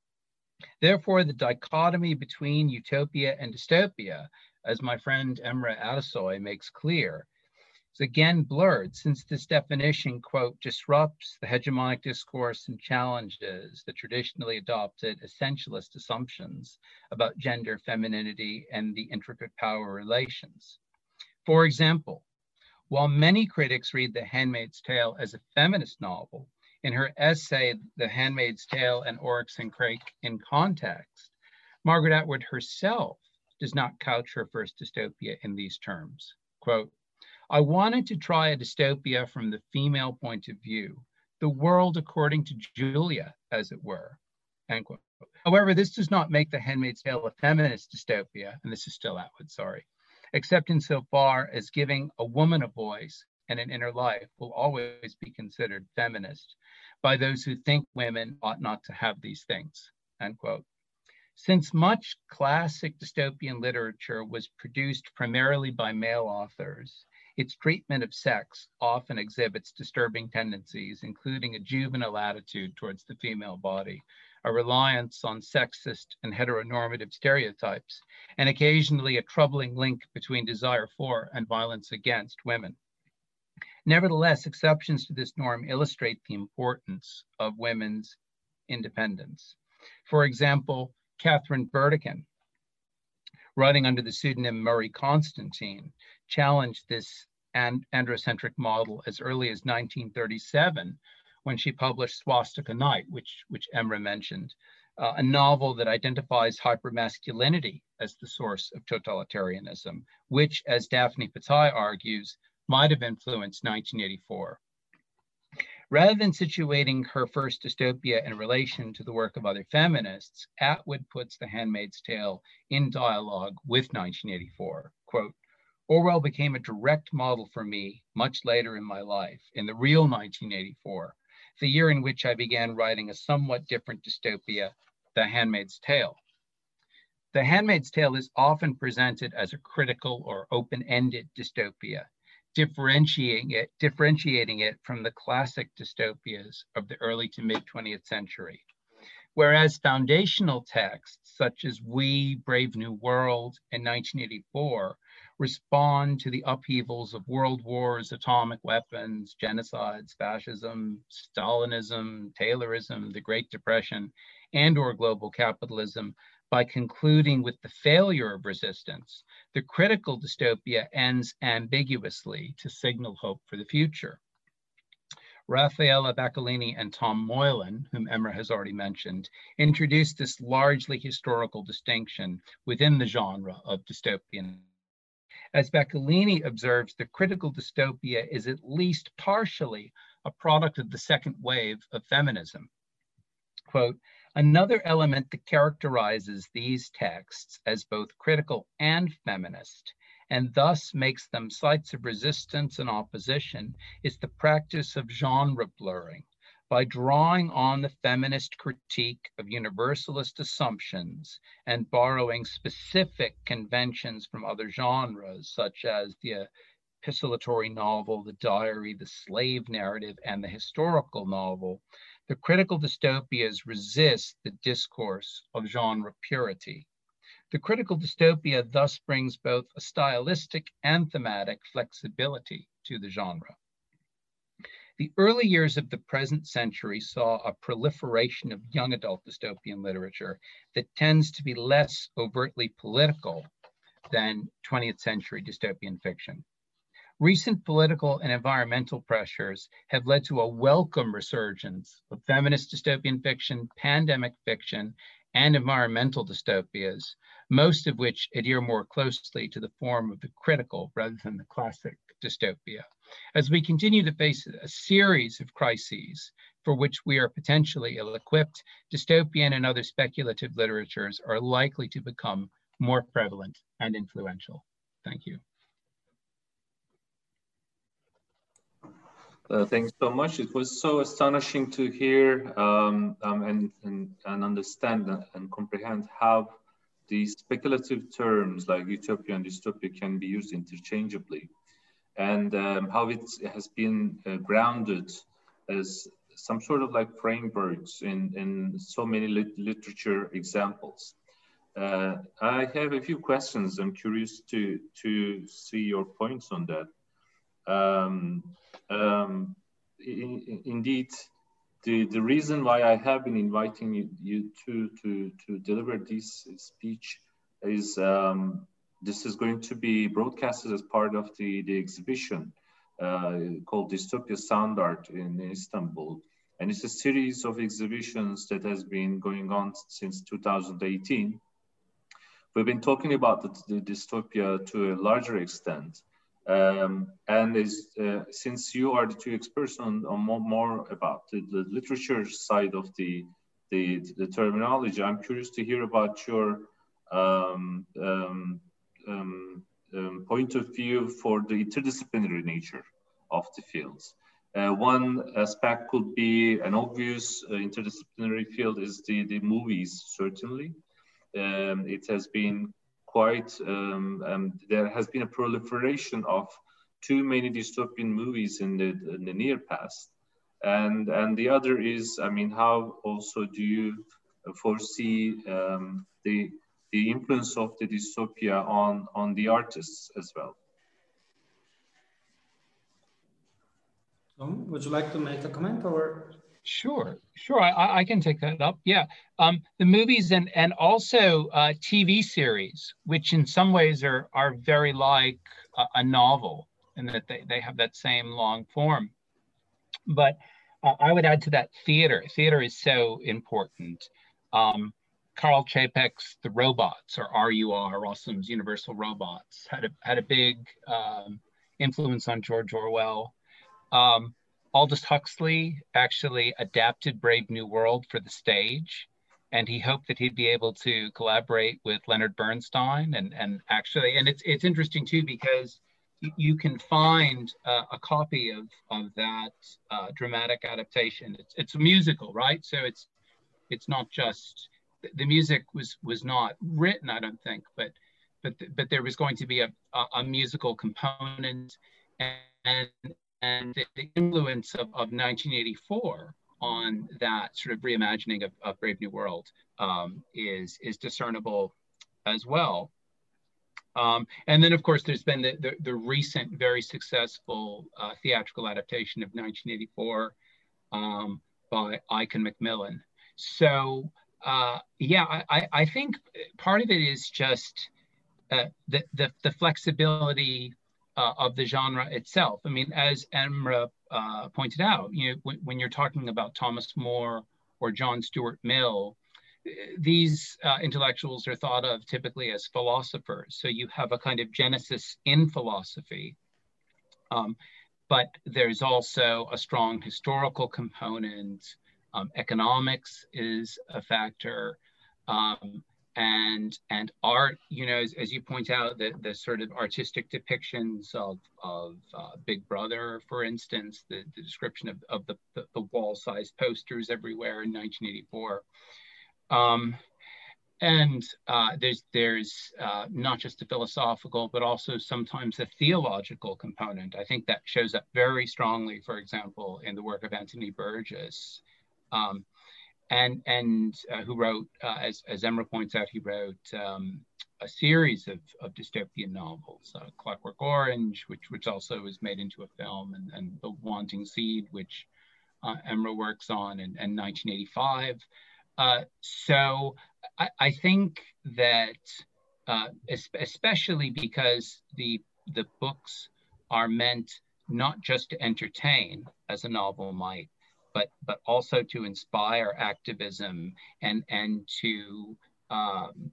Therefore, the dichotomy between utopia and dystopia, as my friend Emre Atasoy makes clear, is again blurred since this definition, quote, disrupts the hegemonic discourse and challenges the traditionally adopted essentialist assumptions about gender, femininity, and the intricate power relations. For example, while many critics read The Handmaid's Tale as a feminist novel, in her essay, The Handmaid's Tale and Oryx and Crake in Context, Margaret Atwood herself does not couch her first dystopia in these terms. Quote, I wanted to try a dystopia from the female point of view, the world according to Julia, as it were, end quote. However, this does not make The Handmaid's Tale a feminist dystopia, and this is still Atwood, sorry, except insofar as giving a woman a voice and an inner life will always be considered feminist by those who think women ought not to have these things, end quote. Since much classic dystopian literature was produced primarily by male authors, its treatment of sex often exhibits disturbing tendencies, including a juvenile attitude towards the female body, a reliance on sexist and heteronormative stereotypes, and occasionally a troubling link between desire for and violence against women. Nevertheless, exceptions to this norm illustrate the importance of women's independence. For example, Catherine Burdekin, writing under the pseudonym Murray Constantine, challenged this and androcentric model as early as nineteen thirty-seven, when she published Swastika Night, which, which Emre mentioned, uh, a novel that identifies hypermasculinity as the source of totalitarianism, which, as Daphne Patai argues, might have influenced nineteen eighty-four. Rather than situating her first dystopia in relation to the work of other feminists, Atwood puts The Handmaid's Tale in dialogue with nineteen eighty-four. Quote, Orwell became a direct model for me much later in my life, in the real nineteen eighty-four, the year in which I began writing a somewhat different dystopia, The Handmaid's Tale. The Handmaid's Tale is often presented as a critical or open-ended dystopia, differentiating it, differentiating it from the classic dystopias of the early to mid twentieth century. Whereas foundational texts such as We, Brave New World, and nineteen eighty-four respond to the upheavals of world wars, atomic weapons, genocides, fascism, Stalinism, Taylorism, the Great Depression, and or global capitalism by concluding with the failure of resistance, the critical dystopia ends ambiguously to signal hope for the future. Raffaella Bacalini and Tom Moylan, whom Emre has already mentioned, introduced this largely historical distinction within the genre of dystopian. As Bacalini observes, the critical dystopia is at least partially a product of the second wave of feminism. Quote, another element that characterizes these texts as both critical and feminist, and thus makes them sites of resistance and opposition, is the practice of genre blurring. By drawing on the feminist critique of universalist assumptions and borrowing specific conventions from other genres, such as the epistolatory novel, the diary, the slave narrative, and the historical novel, the critical dystopias resist the discourse of genre purity. The critical dystopia thus brings both a stylistic and thematic flexibility to the genre. The early years of the present century saw a proliferation of young adult dystopian literature that tends to be less overtly political than twentieth century dystopian fiction. Recent political and environmental pressures have led to a welcome resurgence of feminist dystopian fiction, pandemic fiction, and environmental dystopias, most of which adhere more closely to the form of the critical rather than the classic dystopia. As we continue to face a series of crises for which we are potentially ill-equipped, dystopian and other speculative literatures are likely to become more prevalent and influential. Thank you. Uh, thanks so much. It was so astonishing to hear um, um, and, and, and understand and comprehend how these speculative terms like utopia and dystopia can be used interchangeably, and um, how it has been uh, grounded as some sort of like frameworks in, in so many lit literature examples. Uh, I have a few questions. I'm curious to, to see your points on that. Um, um, in, indeed, the, the reason why I have been inviting you, you to, to, to deliver this speech is um, this is going to be broadcasted as part of the, the exhibition uh, called Dystopia Sound Art in Istanbul. And it's a series of exhibitions that has been going on since two thousand eighteen. We've been talking about the, the dystopia to a larger extent. Um, and is, uh, since you are the two experts on, on more, more about the, the literature side of the, the, the terminology, I'm curious to hear about your um, um, um, um, point of view for the interdisciplinary nature of the fields. Uh, one aspect could be an obvious uh, interdisciplinary field is the, the movies, certainly. Um, it has been quite, um, um, there has been a proliferation of too many dystopian movies in the, in the near past. And, and the other is, I mean, how also do you foresee um, the, the influence of the dystopia on, on the artists as well? Um, would you like to make a comment or? Sure, sure, I, I can take that up. Yeah, um, the movies and and also uh, T V series, which in some ways are are very like a, a novel, in that they they have that same long form. But uh, I would add to that theater. Theater is so important. Um, Karl Čapek's The Robots, or R U R, Rossum's Universal Robots, had a had a big um, influence on George Orwell. Um, Aldous Huxley actually adapted Brave New World for the stage, and he hoped that he'd be able to collaborate with Leonard Bernstein. And, and actually, and it's, it's interesting too, because you, you can find uh, a copy of, of that uh, dramatic adaptation. It's, it's a musical, right? So it's, it's not just, the music was, was not written, I don't think, but, but, but there was going to be a, a, a musical component, and, and And the influence of, of nineteen eighty-four on that sort of reimagining of, of Brave New World um, is, is discernible as well. Um, and then, of course, there's been the, the, the recent, very successful uh, theatrical adaptation of nineteen eighty-four um, by Ike and Macmillan. So, uh, yeah, I, I think part of it is just uh, the, the, the flexibility Uh, of the genre itself. I mean, as Emre uh, pointed out, you know, when, when you're talking about Thomas More or John Stuart Mill, these uh, intellectuals are thought of typically as philosophers. So you have a kind of genesis in philosophy, um, but there's also a strong historical component. Um, economics is a factor. Um, And, and art, you know, as, as you point out, the, the sort of artistic depictions of, of uh, Big Brother, for instance, the, the description of, of the, the, the wall-sized posters everywhere in nineteen eighty-four. Um, and uh, there's, there's uh, not just a philosophical, but also sometimes a theological component. I think that shows up very strongly, for example, in the work of Anthony Burgess, Um, and and uh, who wrote, uh, as, as Emre points out, he wrote um, a series of, of dystopian novels, uh, Clockwork Orange, which which also was made into a film, and, and The Wanting Seed, which uh, Emre works on, and, and nineteen eighty-five. Uh, so I, I think that, uh, especially because the the books are meant not just to entertain, as a novel might, but but also to inspire activism and and to um,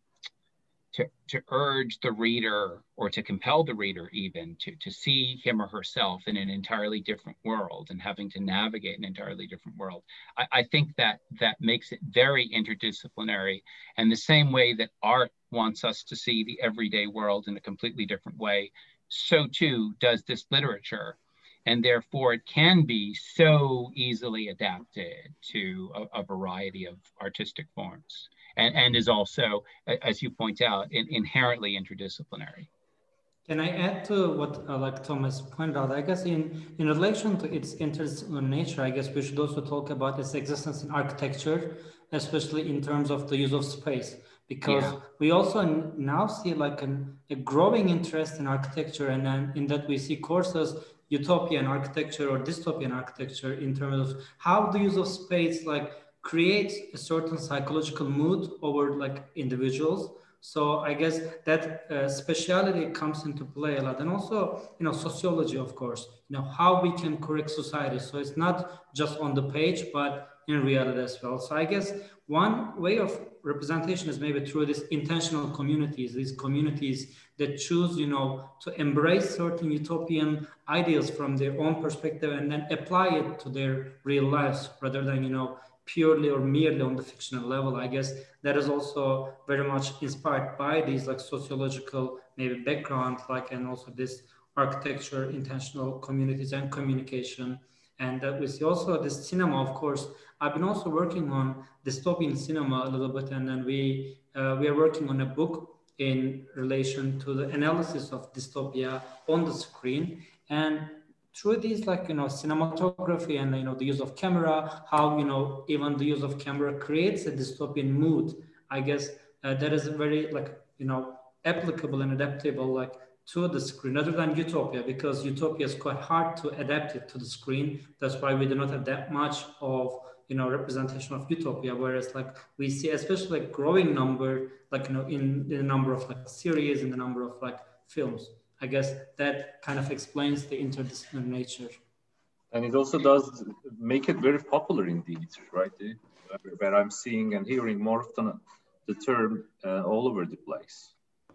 to to urge the reader, or to compel the reader even to to see him or herself in an entirely different world and having to navigate an entirely different world. I, I think that that makes it very interdisciplinary, and the same way that art wants us to see the everyday world in a completely different way, so too does this literature. And therefore, it can be so easily adapted to a, a variety of artistic forms, and, and is also, as you point out, in, inherently interdisciplinary. Can I add to what uh, like Thomas pointed out? I guess in, in relation to its interdisciplinary nature, I guess we should also talk about its existence in architecture, especially in terms of the use of space, because yeah. we also now see like an, a growing interest in architecture, and then in that we see courses, utopian architecture or dystopian architecture, in terms of how the use of space like creates a certain psychological mood over like individuals. So I guess that uh, speciality comes into play a lot, and also, you know, sociology, of course, you know, how we can correct society. So it's not just on the page, but in reality as well. So I guess one way of representation is maybe through these intentional communities, these communities that choose, you know, to embrace certain utopian ideas from their own perspective and then apply it to their real lives, rather than, you know, purely or merely on the fictional level. I guess that is also very much inspired by these like sociological maybe background, like, and also this architecture, intentional communities and communication. And that we see also this cinema, of course. I've been also working on dystopian cinema a little bit, and then we uh, we are working on a book in relation to the analysis of dystopia on the screen. And through these, like, you know, cinematography and, you know, the use of camera, how, you know, even the use of camera creates a dystopian mood, I guess uh, that is very, like, you know, applicable and adaptable, like, to the screen, rather than utopia, because utopia is quite hard to adapt it to the screen. That's why we do not have that much of, you know, representation of utopia, whereas like we see especially like growing number, like, you know, in, in the number of like series, in the number of like films. I guess that kind of explains the interdisciplinary nature. And it also does make it very popular indeed, right? Where I'm seeing and hearing more often the term uh, all over the place.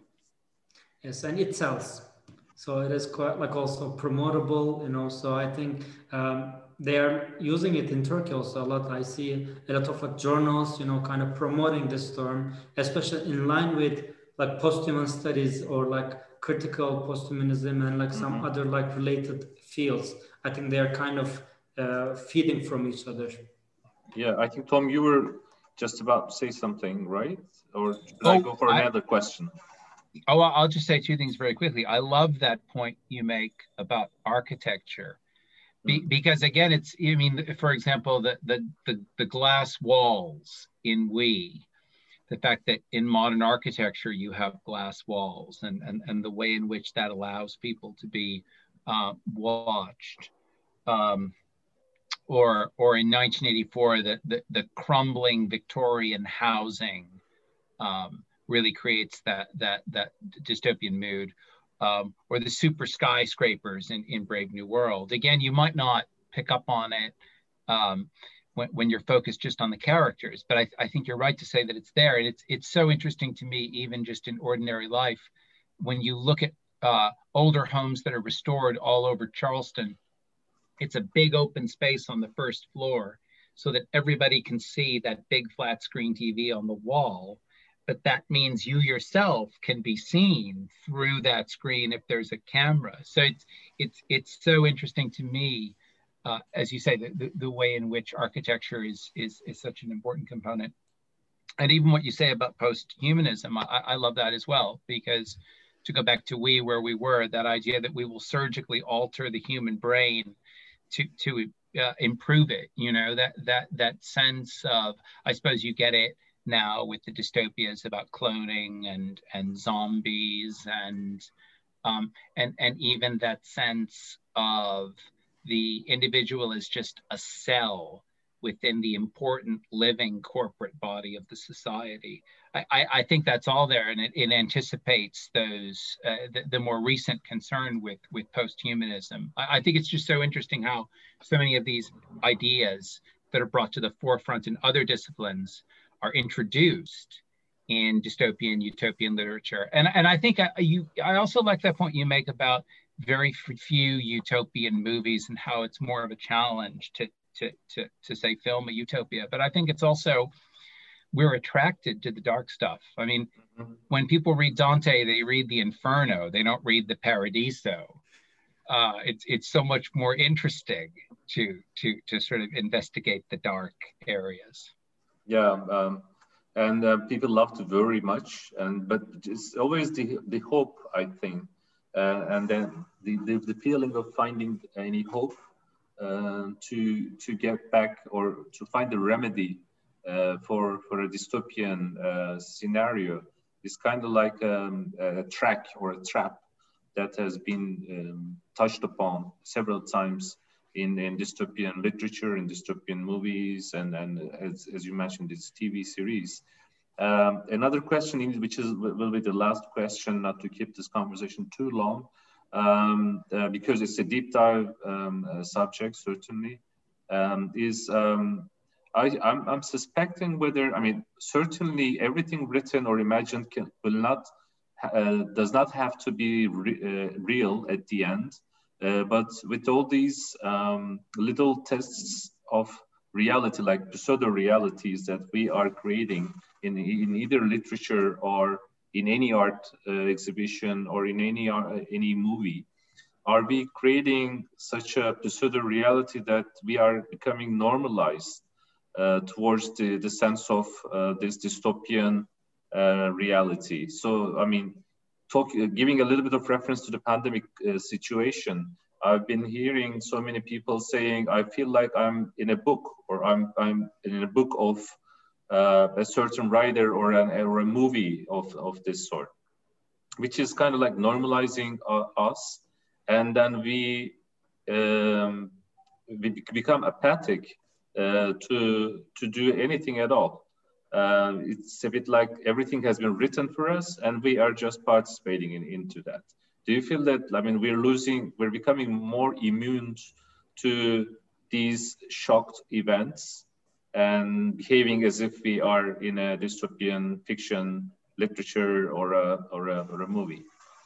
Yes, and it sells. So it is quite like also promotable, you know, so I think um, they are using it in Turkey also a lot. I see a lot of like journals, you know, kind of promoting this term, especially in line with like posthuman studies or like critical posthumanism and like some mm-hmm. other like related fields. I think they are kind of uh, feeding from each other. Yeah, I think, Tom, you were just about to say something, right? Or should oh, I go for another I, question? Oh, I'll just say two things very quickly. I love that point you make about architecture. Be, mm. Because again, it's, I mean, for example, the, the, the, the glass walls in We, the fact that in modern architecture, you have glass walls, and, and, and the way in which that allows people to be uh, watched. Um, or, or in nineteen eighty-four, the, the, the crumbling Victorian housing um, really creates that, that, that dystopian mood. Um, or the super skyscrapers in, in Brave New World. Again, you might not pick up on it um, when, when you're focused just on the characters, but I, I think you're right to say that it's there. And it's, it's so interesting to me, even just in ordinary life, when you look at uh, older homes that are restored all over Charleston, it's a big open space on the first floor so that everybody can see that big flat screen T V on the wall. But that means you yourself can be seen through that screen if there's a camera. So it's it's it's so interesting to me, uh, as you say, the, the, the way in which architecture is, is is such an important component. And even what you say about post-humanism, I, I love that as well, because to go back to We, where we were, that idea that we will surgically alter the human brain to, to uh, improve it. You know, that that that sense of, I suppose you get it now with the dystopias about cloning and and zombies and um, and and even that sense of the individual is just a cell within the important living corporate body of the society. I, I, I think that's all there, and it, it anticipates those uh, the, the more recent concern with with posthumanism. I, I think it's just so interesting how so many of these ideas that are brought to the forefront in other disciplines are introduced in dystopian utopian literature. And and I think I, you I also like that point you make about very few utopian movies and how it's more of a challenge to to to to say film a utopia. But I think it's also, we're attracted to the dark stuff. I mean, mm-hmm. when people read Dante, they read the Inferno, they don't read the Paradiso. Uh, it's it's so much more interesting to to to sort of investigate the dark areas. Yeah, um, and uh, people love to worry much, and but it's always the the hope, I think, uh, and then the, the the feeling of finding any hope uh, to to get back or to find a remedy uh, for for a dystopian uh, scenario is kind of like um, a track or a trap that has been um, touched upon several times in, in dystopian literature, in dystopian movies, and, and as, as you mentioned, this T V series. Um, another question, which is will be the last question, not to keep this conversation too long, um, uh, because it's a deep dive um, uh, subject, certainly, um, is um, I, I'm, I'm suspecting whether, I mean, certainly everything written or imagined can, will not, uh, does not have to be re, uh, real at the end. Uh, but with all these um, little tests of reality, like pseudo-realities that we are creating in, in either literature or in any art uh, exhibition or in any, uh, any movie, are we creating such a pseudo-reality that we are becoming normalized uh, towards the, the sense of uh, this dystopian uh, reality? So, I mean, Talk, uh, giving a little bit of reference to the pandemic uh, situation, I've been hearing so many people saying, I feel like I'm in a book, or I'm, I'm in a book of uh, a certain writer or, an, or a movie of, of this sort, which is kind of like normalizing uh, us. And then we, um, we become apathic uh, to, to do anything at all. Uh, it's a bit like everything has been written for us and we are just participating in, into that. Do you feel that, I mean, we're losing, we're becoming more immune to these shocked events and behaving as if we are in a dystopian fiction literature or a, or a, or a movie?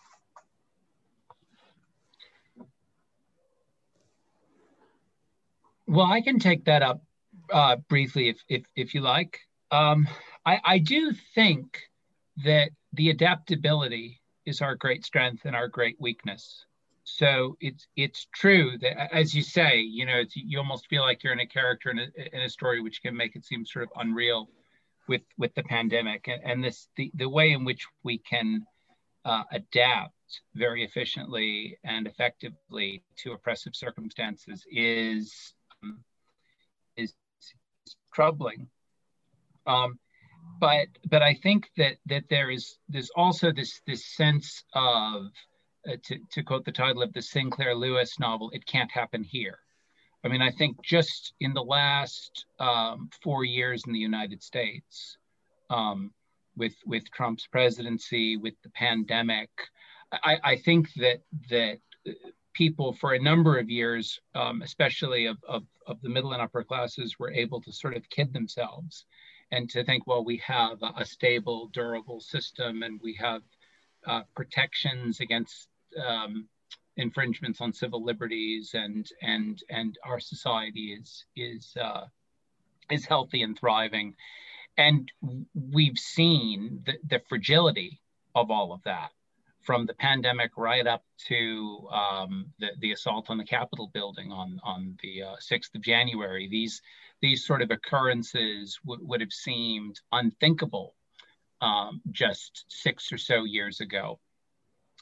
Well, I can take that up uh, briefly if, if, if you like. Um, I, I do think that the adaptability is our great strength and our great weakness. So it's it's true that, as you say, you know, it's, you almost feel like you're in a character in a, in a story, which can make it seem sort of unreal with with the pandemic. And, and this the, the way in which we can uh, adapt very efficiently and effectively to oppressive circumstances is um, is, is troubling. Um, but but I think that that there is there's also this this sense of uh, to to quote the title of the Sinclair Lewis novel, "It Can't Happen Here." I mean, I think just in the last um, four years in the United States, um, with with Trump's presidency, with the pandemic, I, I think that that people for a number of years, um, especially of, of of the middle and upper classes, were able to sort of kid themselves and to think, well, we have a stable, durable system, and we have uh, protections against um, infringements on civil liberties, and and and our society is is uh, is healthy and thriving. And we've seen the, the fragility of all of that, from the pandemic right up to um, the the assault on the Capitol building on on the uh, sixth of January. These These sort of occurrences w- would have seemed unthinkable um, just six or so years ago.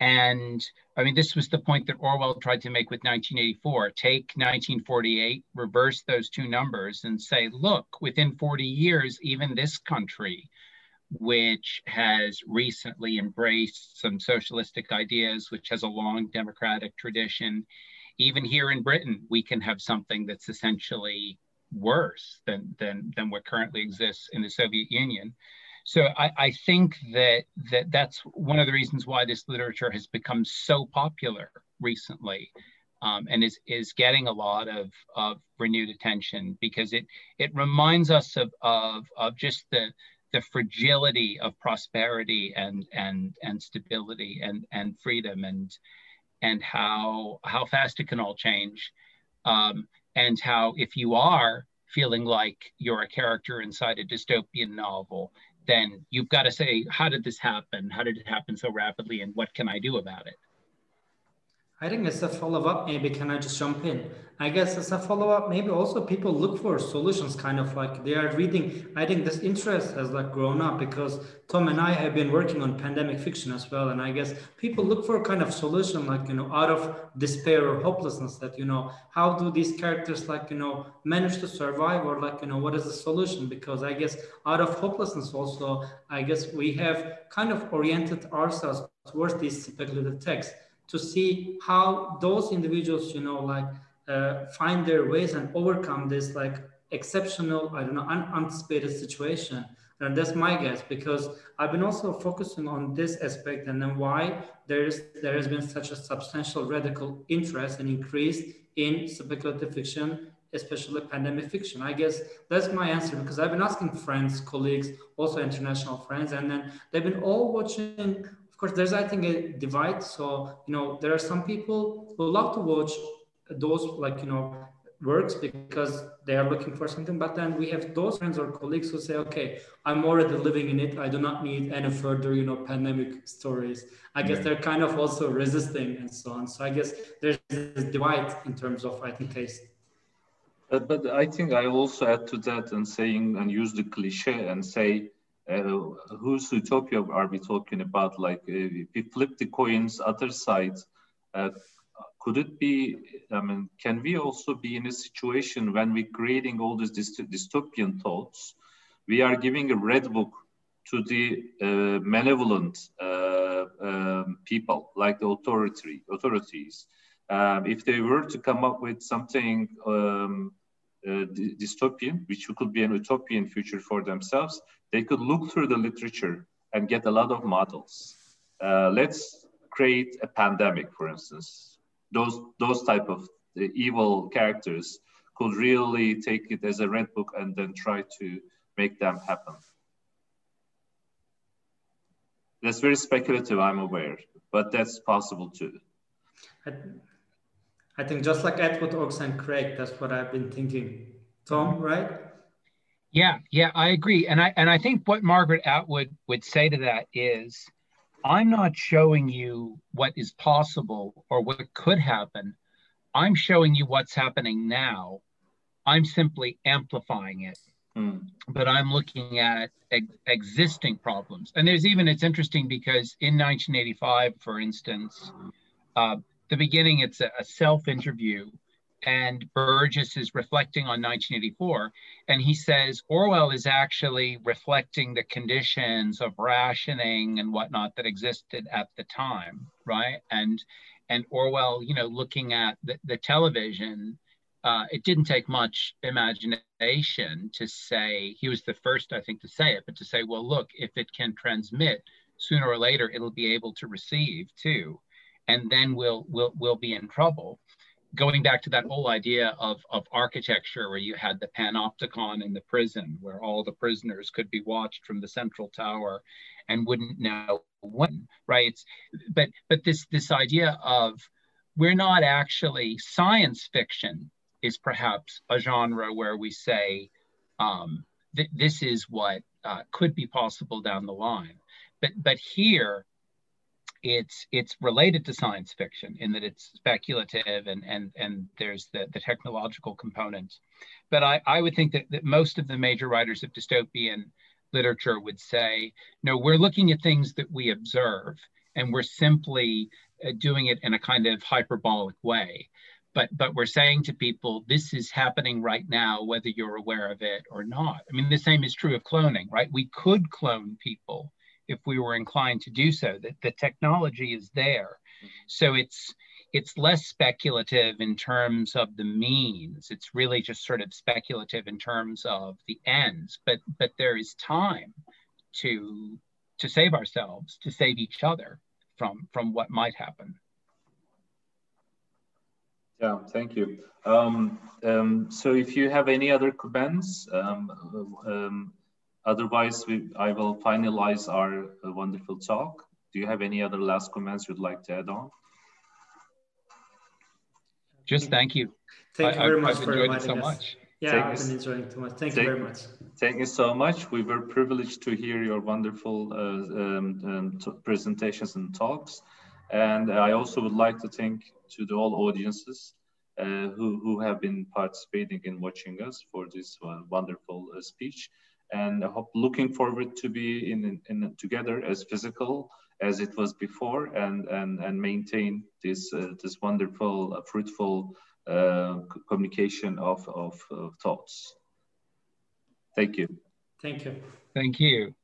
And I mean, this was the point that Orwell tried to make with nineteen eighty-four. Take nineteen forty-eight, reverse those two numbers and say, look, within forty years, even this country, which has recently embraced some socialistic ideas, which has a long democratic tradition, even here in Britain, we can have something that's essentially worse than, than, than what currently exists in the Soviet Union. So I, I think that, that that's one of the reasons why this literature has become so popular recently, um, and is, is getting a lot of, of renewed attention, because it, it reminds us of, of, of just the, the fragility of prosperity and, and, and stability and, and freedom, and, and how, how fast it can all change. Um, and how if you are feeling like you're a character inside a dystopian novel, then you've got to say, how did this happen? How did it happen so rapidly? And what can I do about it? I think as a follow-up, maybe can I just jump in? I guess as a follow-up, maybe also people look for solutions, kind of like they are reading. I think this interest has like grown up because Tom and I have been working on pandemic fiction as well. And I guess people look for a kind of solution, like, you know, out of despair or hopelessness, that, you know, how do these characters like, you know, manage to survive, or like, you know, what is the solution? Because I guess out of hopelessness also, I guess we have kind of oriented ourselves towards these speculative texts, to see how those individuals, you know, like uh, find their ways and overcome this like exceptional, I don't know, unanticipated situation. And that's my guess, because I've been also focusing on this aspect, and then why there is there has been such a substantial radical interest and increase in speculative fiction, especially pandemic fiction. I guess that's my answer, because I've been asking friends, colleagues, also international friends, and then they've been all watching. Of course, there's, I think, a divide. So, you know, there are some people who love to watch those, like, you know, works because they are looking for something. But then we have those friends or colleagues who say, okay, I'm already living in it. I do not need any further, you know, pandemic stories. I guess they're kind of also resisting and so on. So I guess there's this divide in terms of, I think, taste. Uh, but I think I also add to that and saying and use the cliche and say, Uh, whose utopia are we talking about? Like, uh, if we flip the coin's other side, uh, could it be, I mean, can we also be in a situation when we're creating all these dyst dystopian thoughts, we are giving a red book to the uh, malevolent uh, um, people, like the authority, authorities. Um, if they were to come up with something um, uh, dystopian, which could be an utopian future for themselves, they could look through the literature and get a lot of models. Uh, let's create a pandemic, for instance. Those, those type of the evil characters could really take it as a red book and then try to make them happen. That's very speculative, I'm aware, but that's possible too. I, I think just like Atwood, Oakes, and Craig, that's what I've been thinking. Tom, right? Yeah, yeah, I agree. And I and I think what Margaret Atwood would say to that is, I'm not showing you what is possible or what could happen. I'm showing you what's happening now. I'm simply amplifying it. Mm. But I'm looking at ex existing problems. And there's even, it's interesting because in nineteen eighty-five, for instance, uh, the beginning, it's a, a self-interview. And Burgess is reflecting on nineteen eighty-four, and he says Orwell is actually reflecting the conditions of rationing and whatnot that existed at the time, right? And and Orwell, you know, looking at the, the television, uh, it didn't take much imagination to say, he was the first, I think, to say it, but to say, well, look, if it can transmit, sooner or later, it'll be able to receive too, and then we'll we'll we'll be in trouble. Going back to that whole idea of, of architecture, where you had the panopticon in the prison, where all the prisoners could be watched from the central tower and wouldn't know when, right? It's, but but this, this idea of, we're not actually, science fiction is perhaps a genre where we say, um, th this is what uh, could be possible down the line. But, but here, it's it's related to science fiction in that it's speculative and and and there's the, the technological component. But I, I would think that, that most of the major writers of dystopian literature would say, no, we're looking at things that we observe, and we're simply uh, doing it in a kind of hyperbolic way. But, but we're saying to people, this is happening right now, whether you're aware of it or not. I mean, the same is true of cloning, right? We could clone people if we were inclined to do so. That the technology is there. So it's, it's less speculative in terms of the means. It's really just sort of speculative in terms of the ends. But, but there is time to, to save ourselves, to save each other from, from what might happen. Yeah, thank you. Um, um, so if you have any other comments, um, um, otherwise we, I will finalize our uh, wonderful talk. Do you have any other last comments you'd like to add on? Just thank you. Thank you very I, much I've for enjoyed it inviting so us. much. Yeah, Thank I've you. been enjoying too much. Thank, thank you very much. Thank you so much. We were privileged to hear your wonderful uh, um, um, presentations and talks. And I also would like to thank to the all audiences uh, who, who have been participating in watching us for this uh, wonderful uh, speech. And I hope looking forward to be in, in, in together as physical as it was before, and, and, and maintain this, uh, this wonderful, uh, fruitful uh, communication of, of, of thoughts. Thank you. Thank you. Thank you.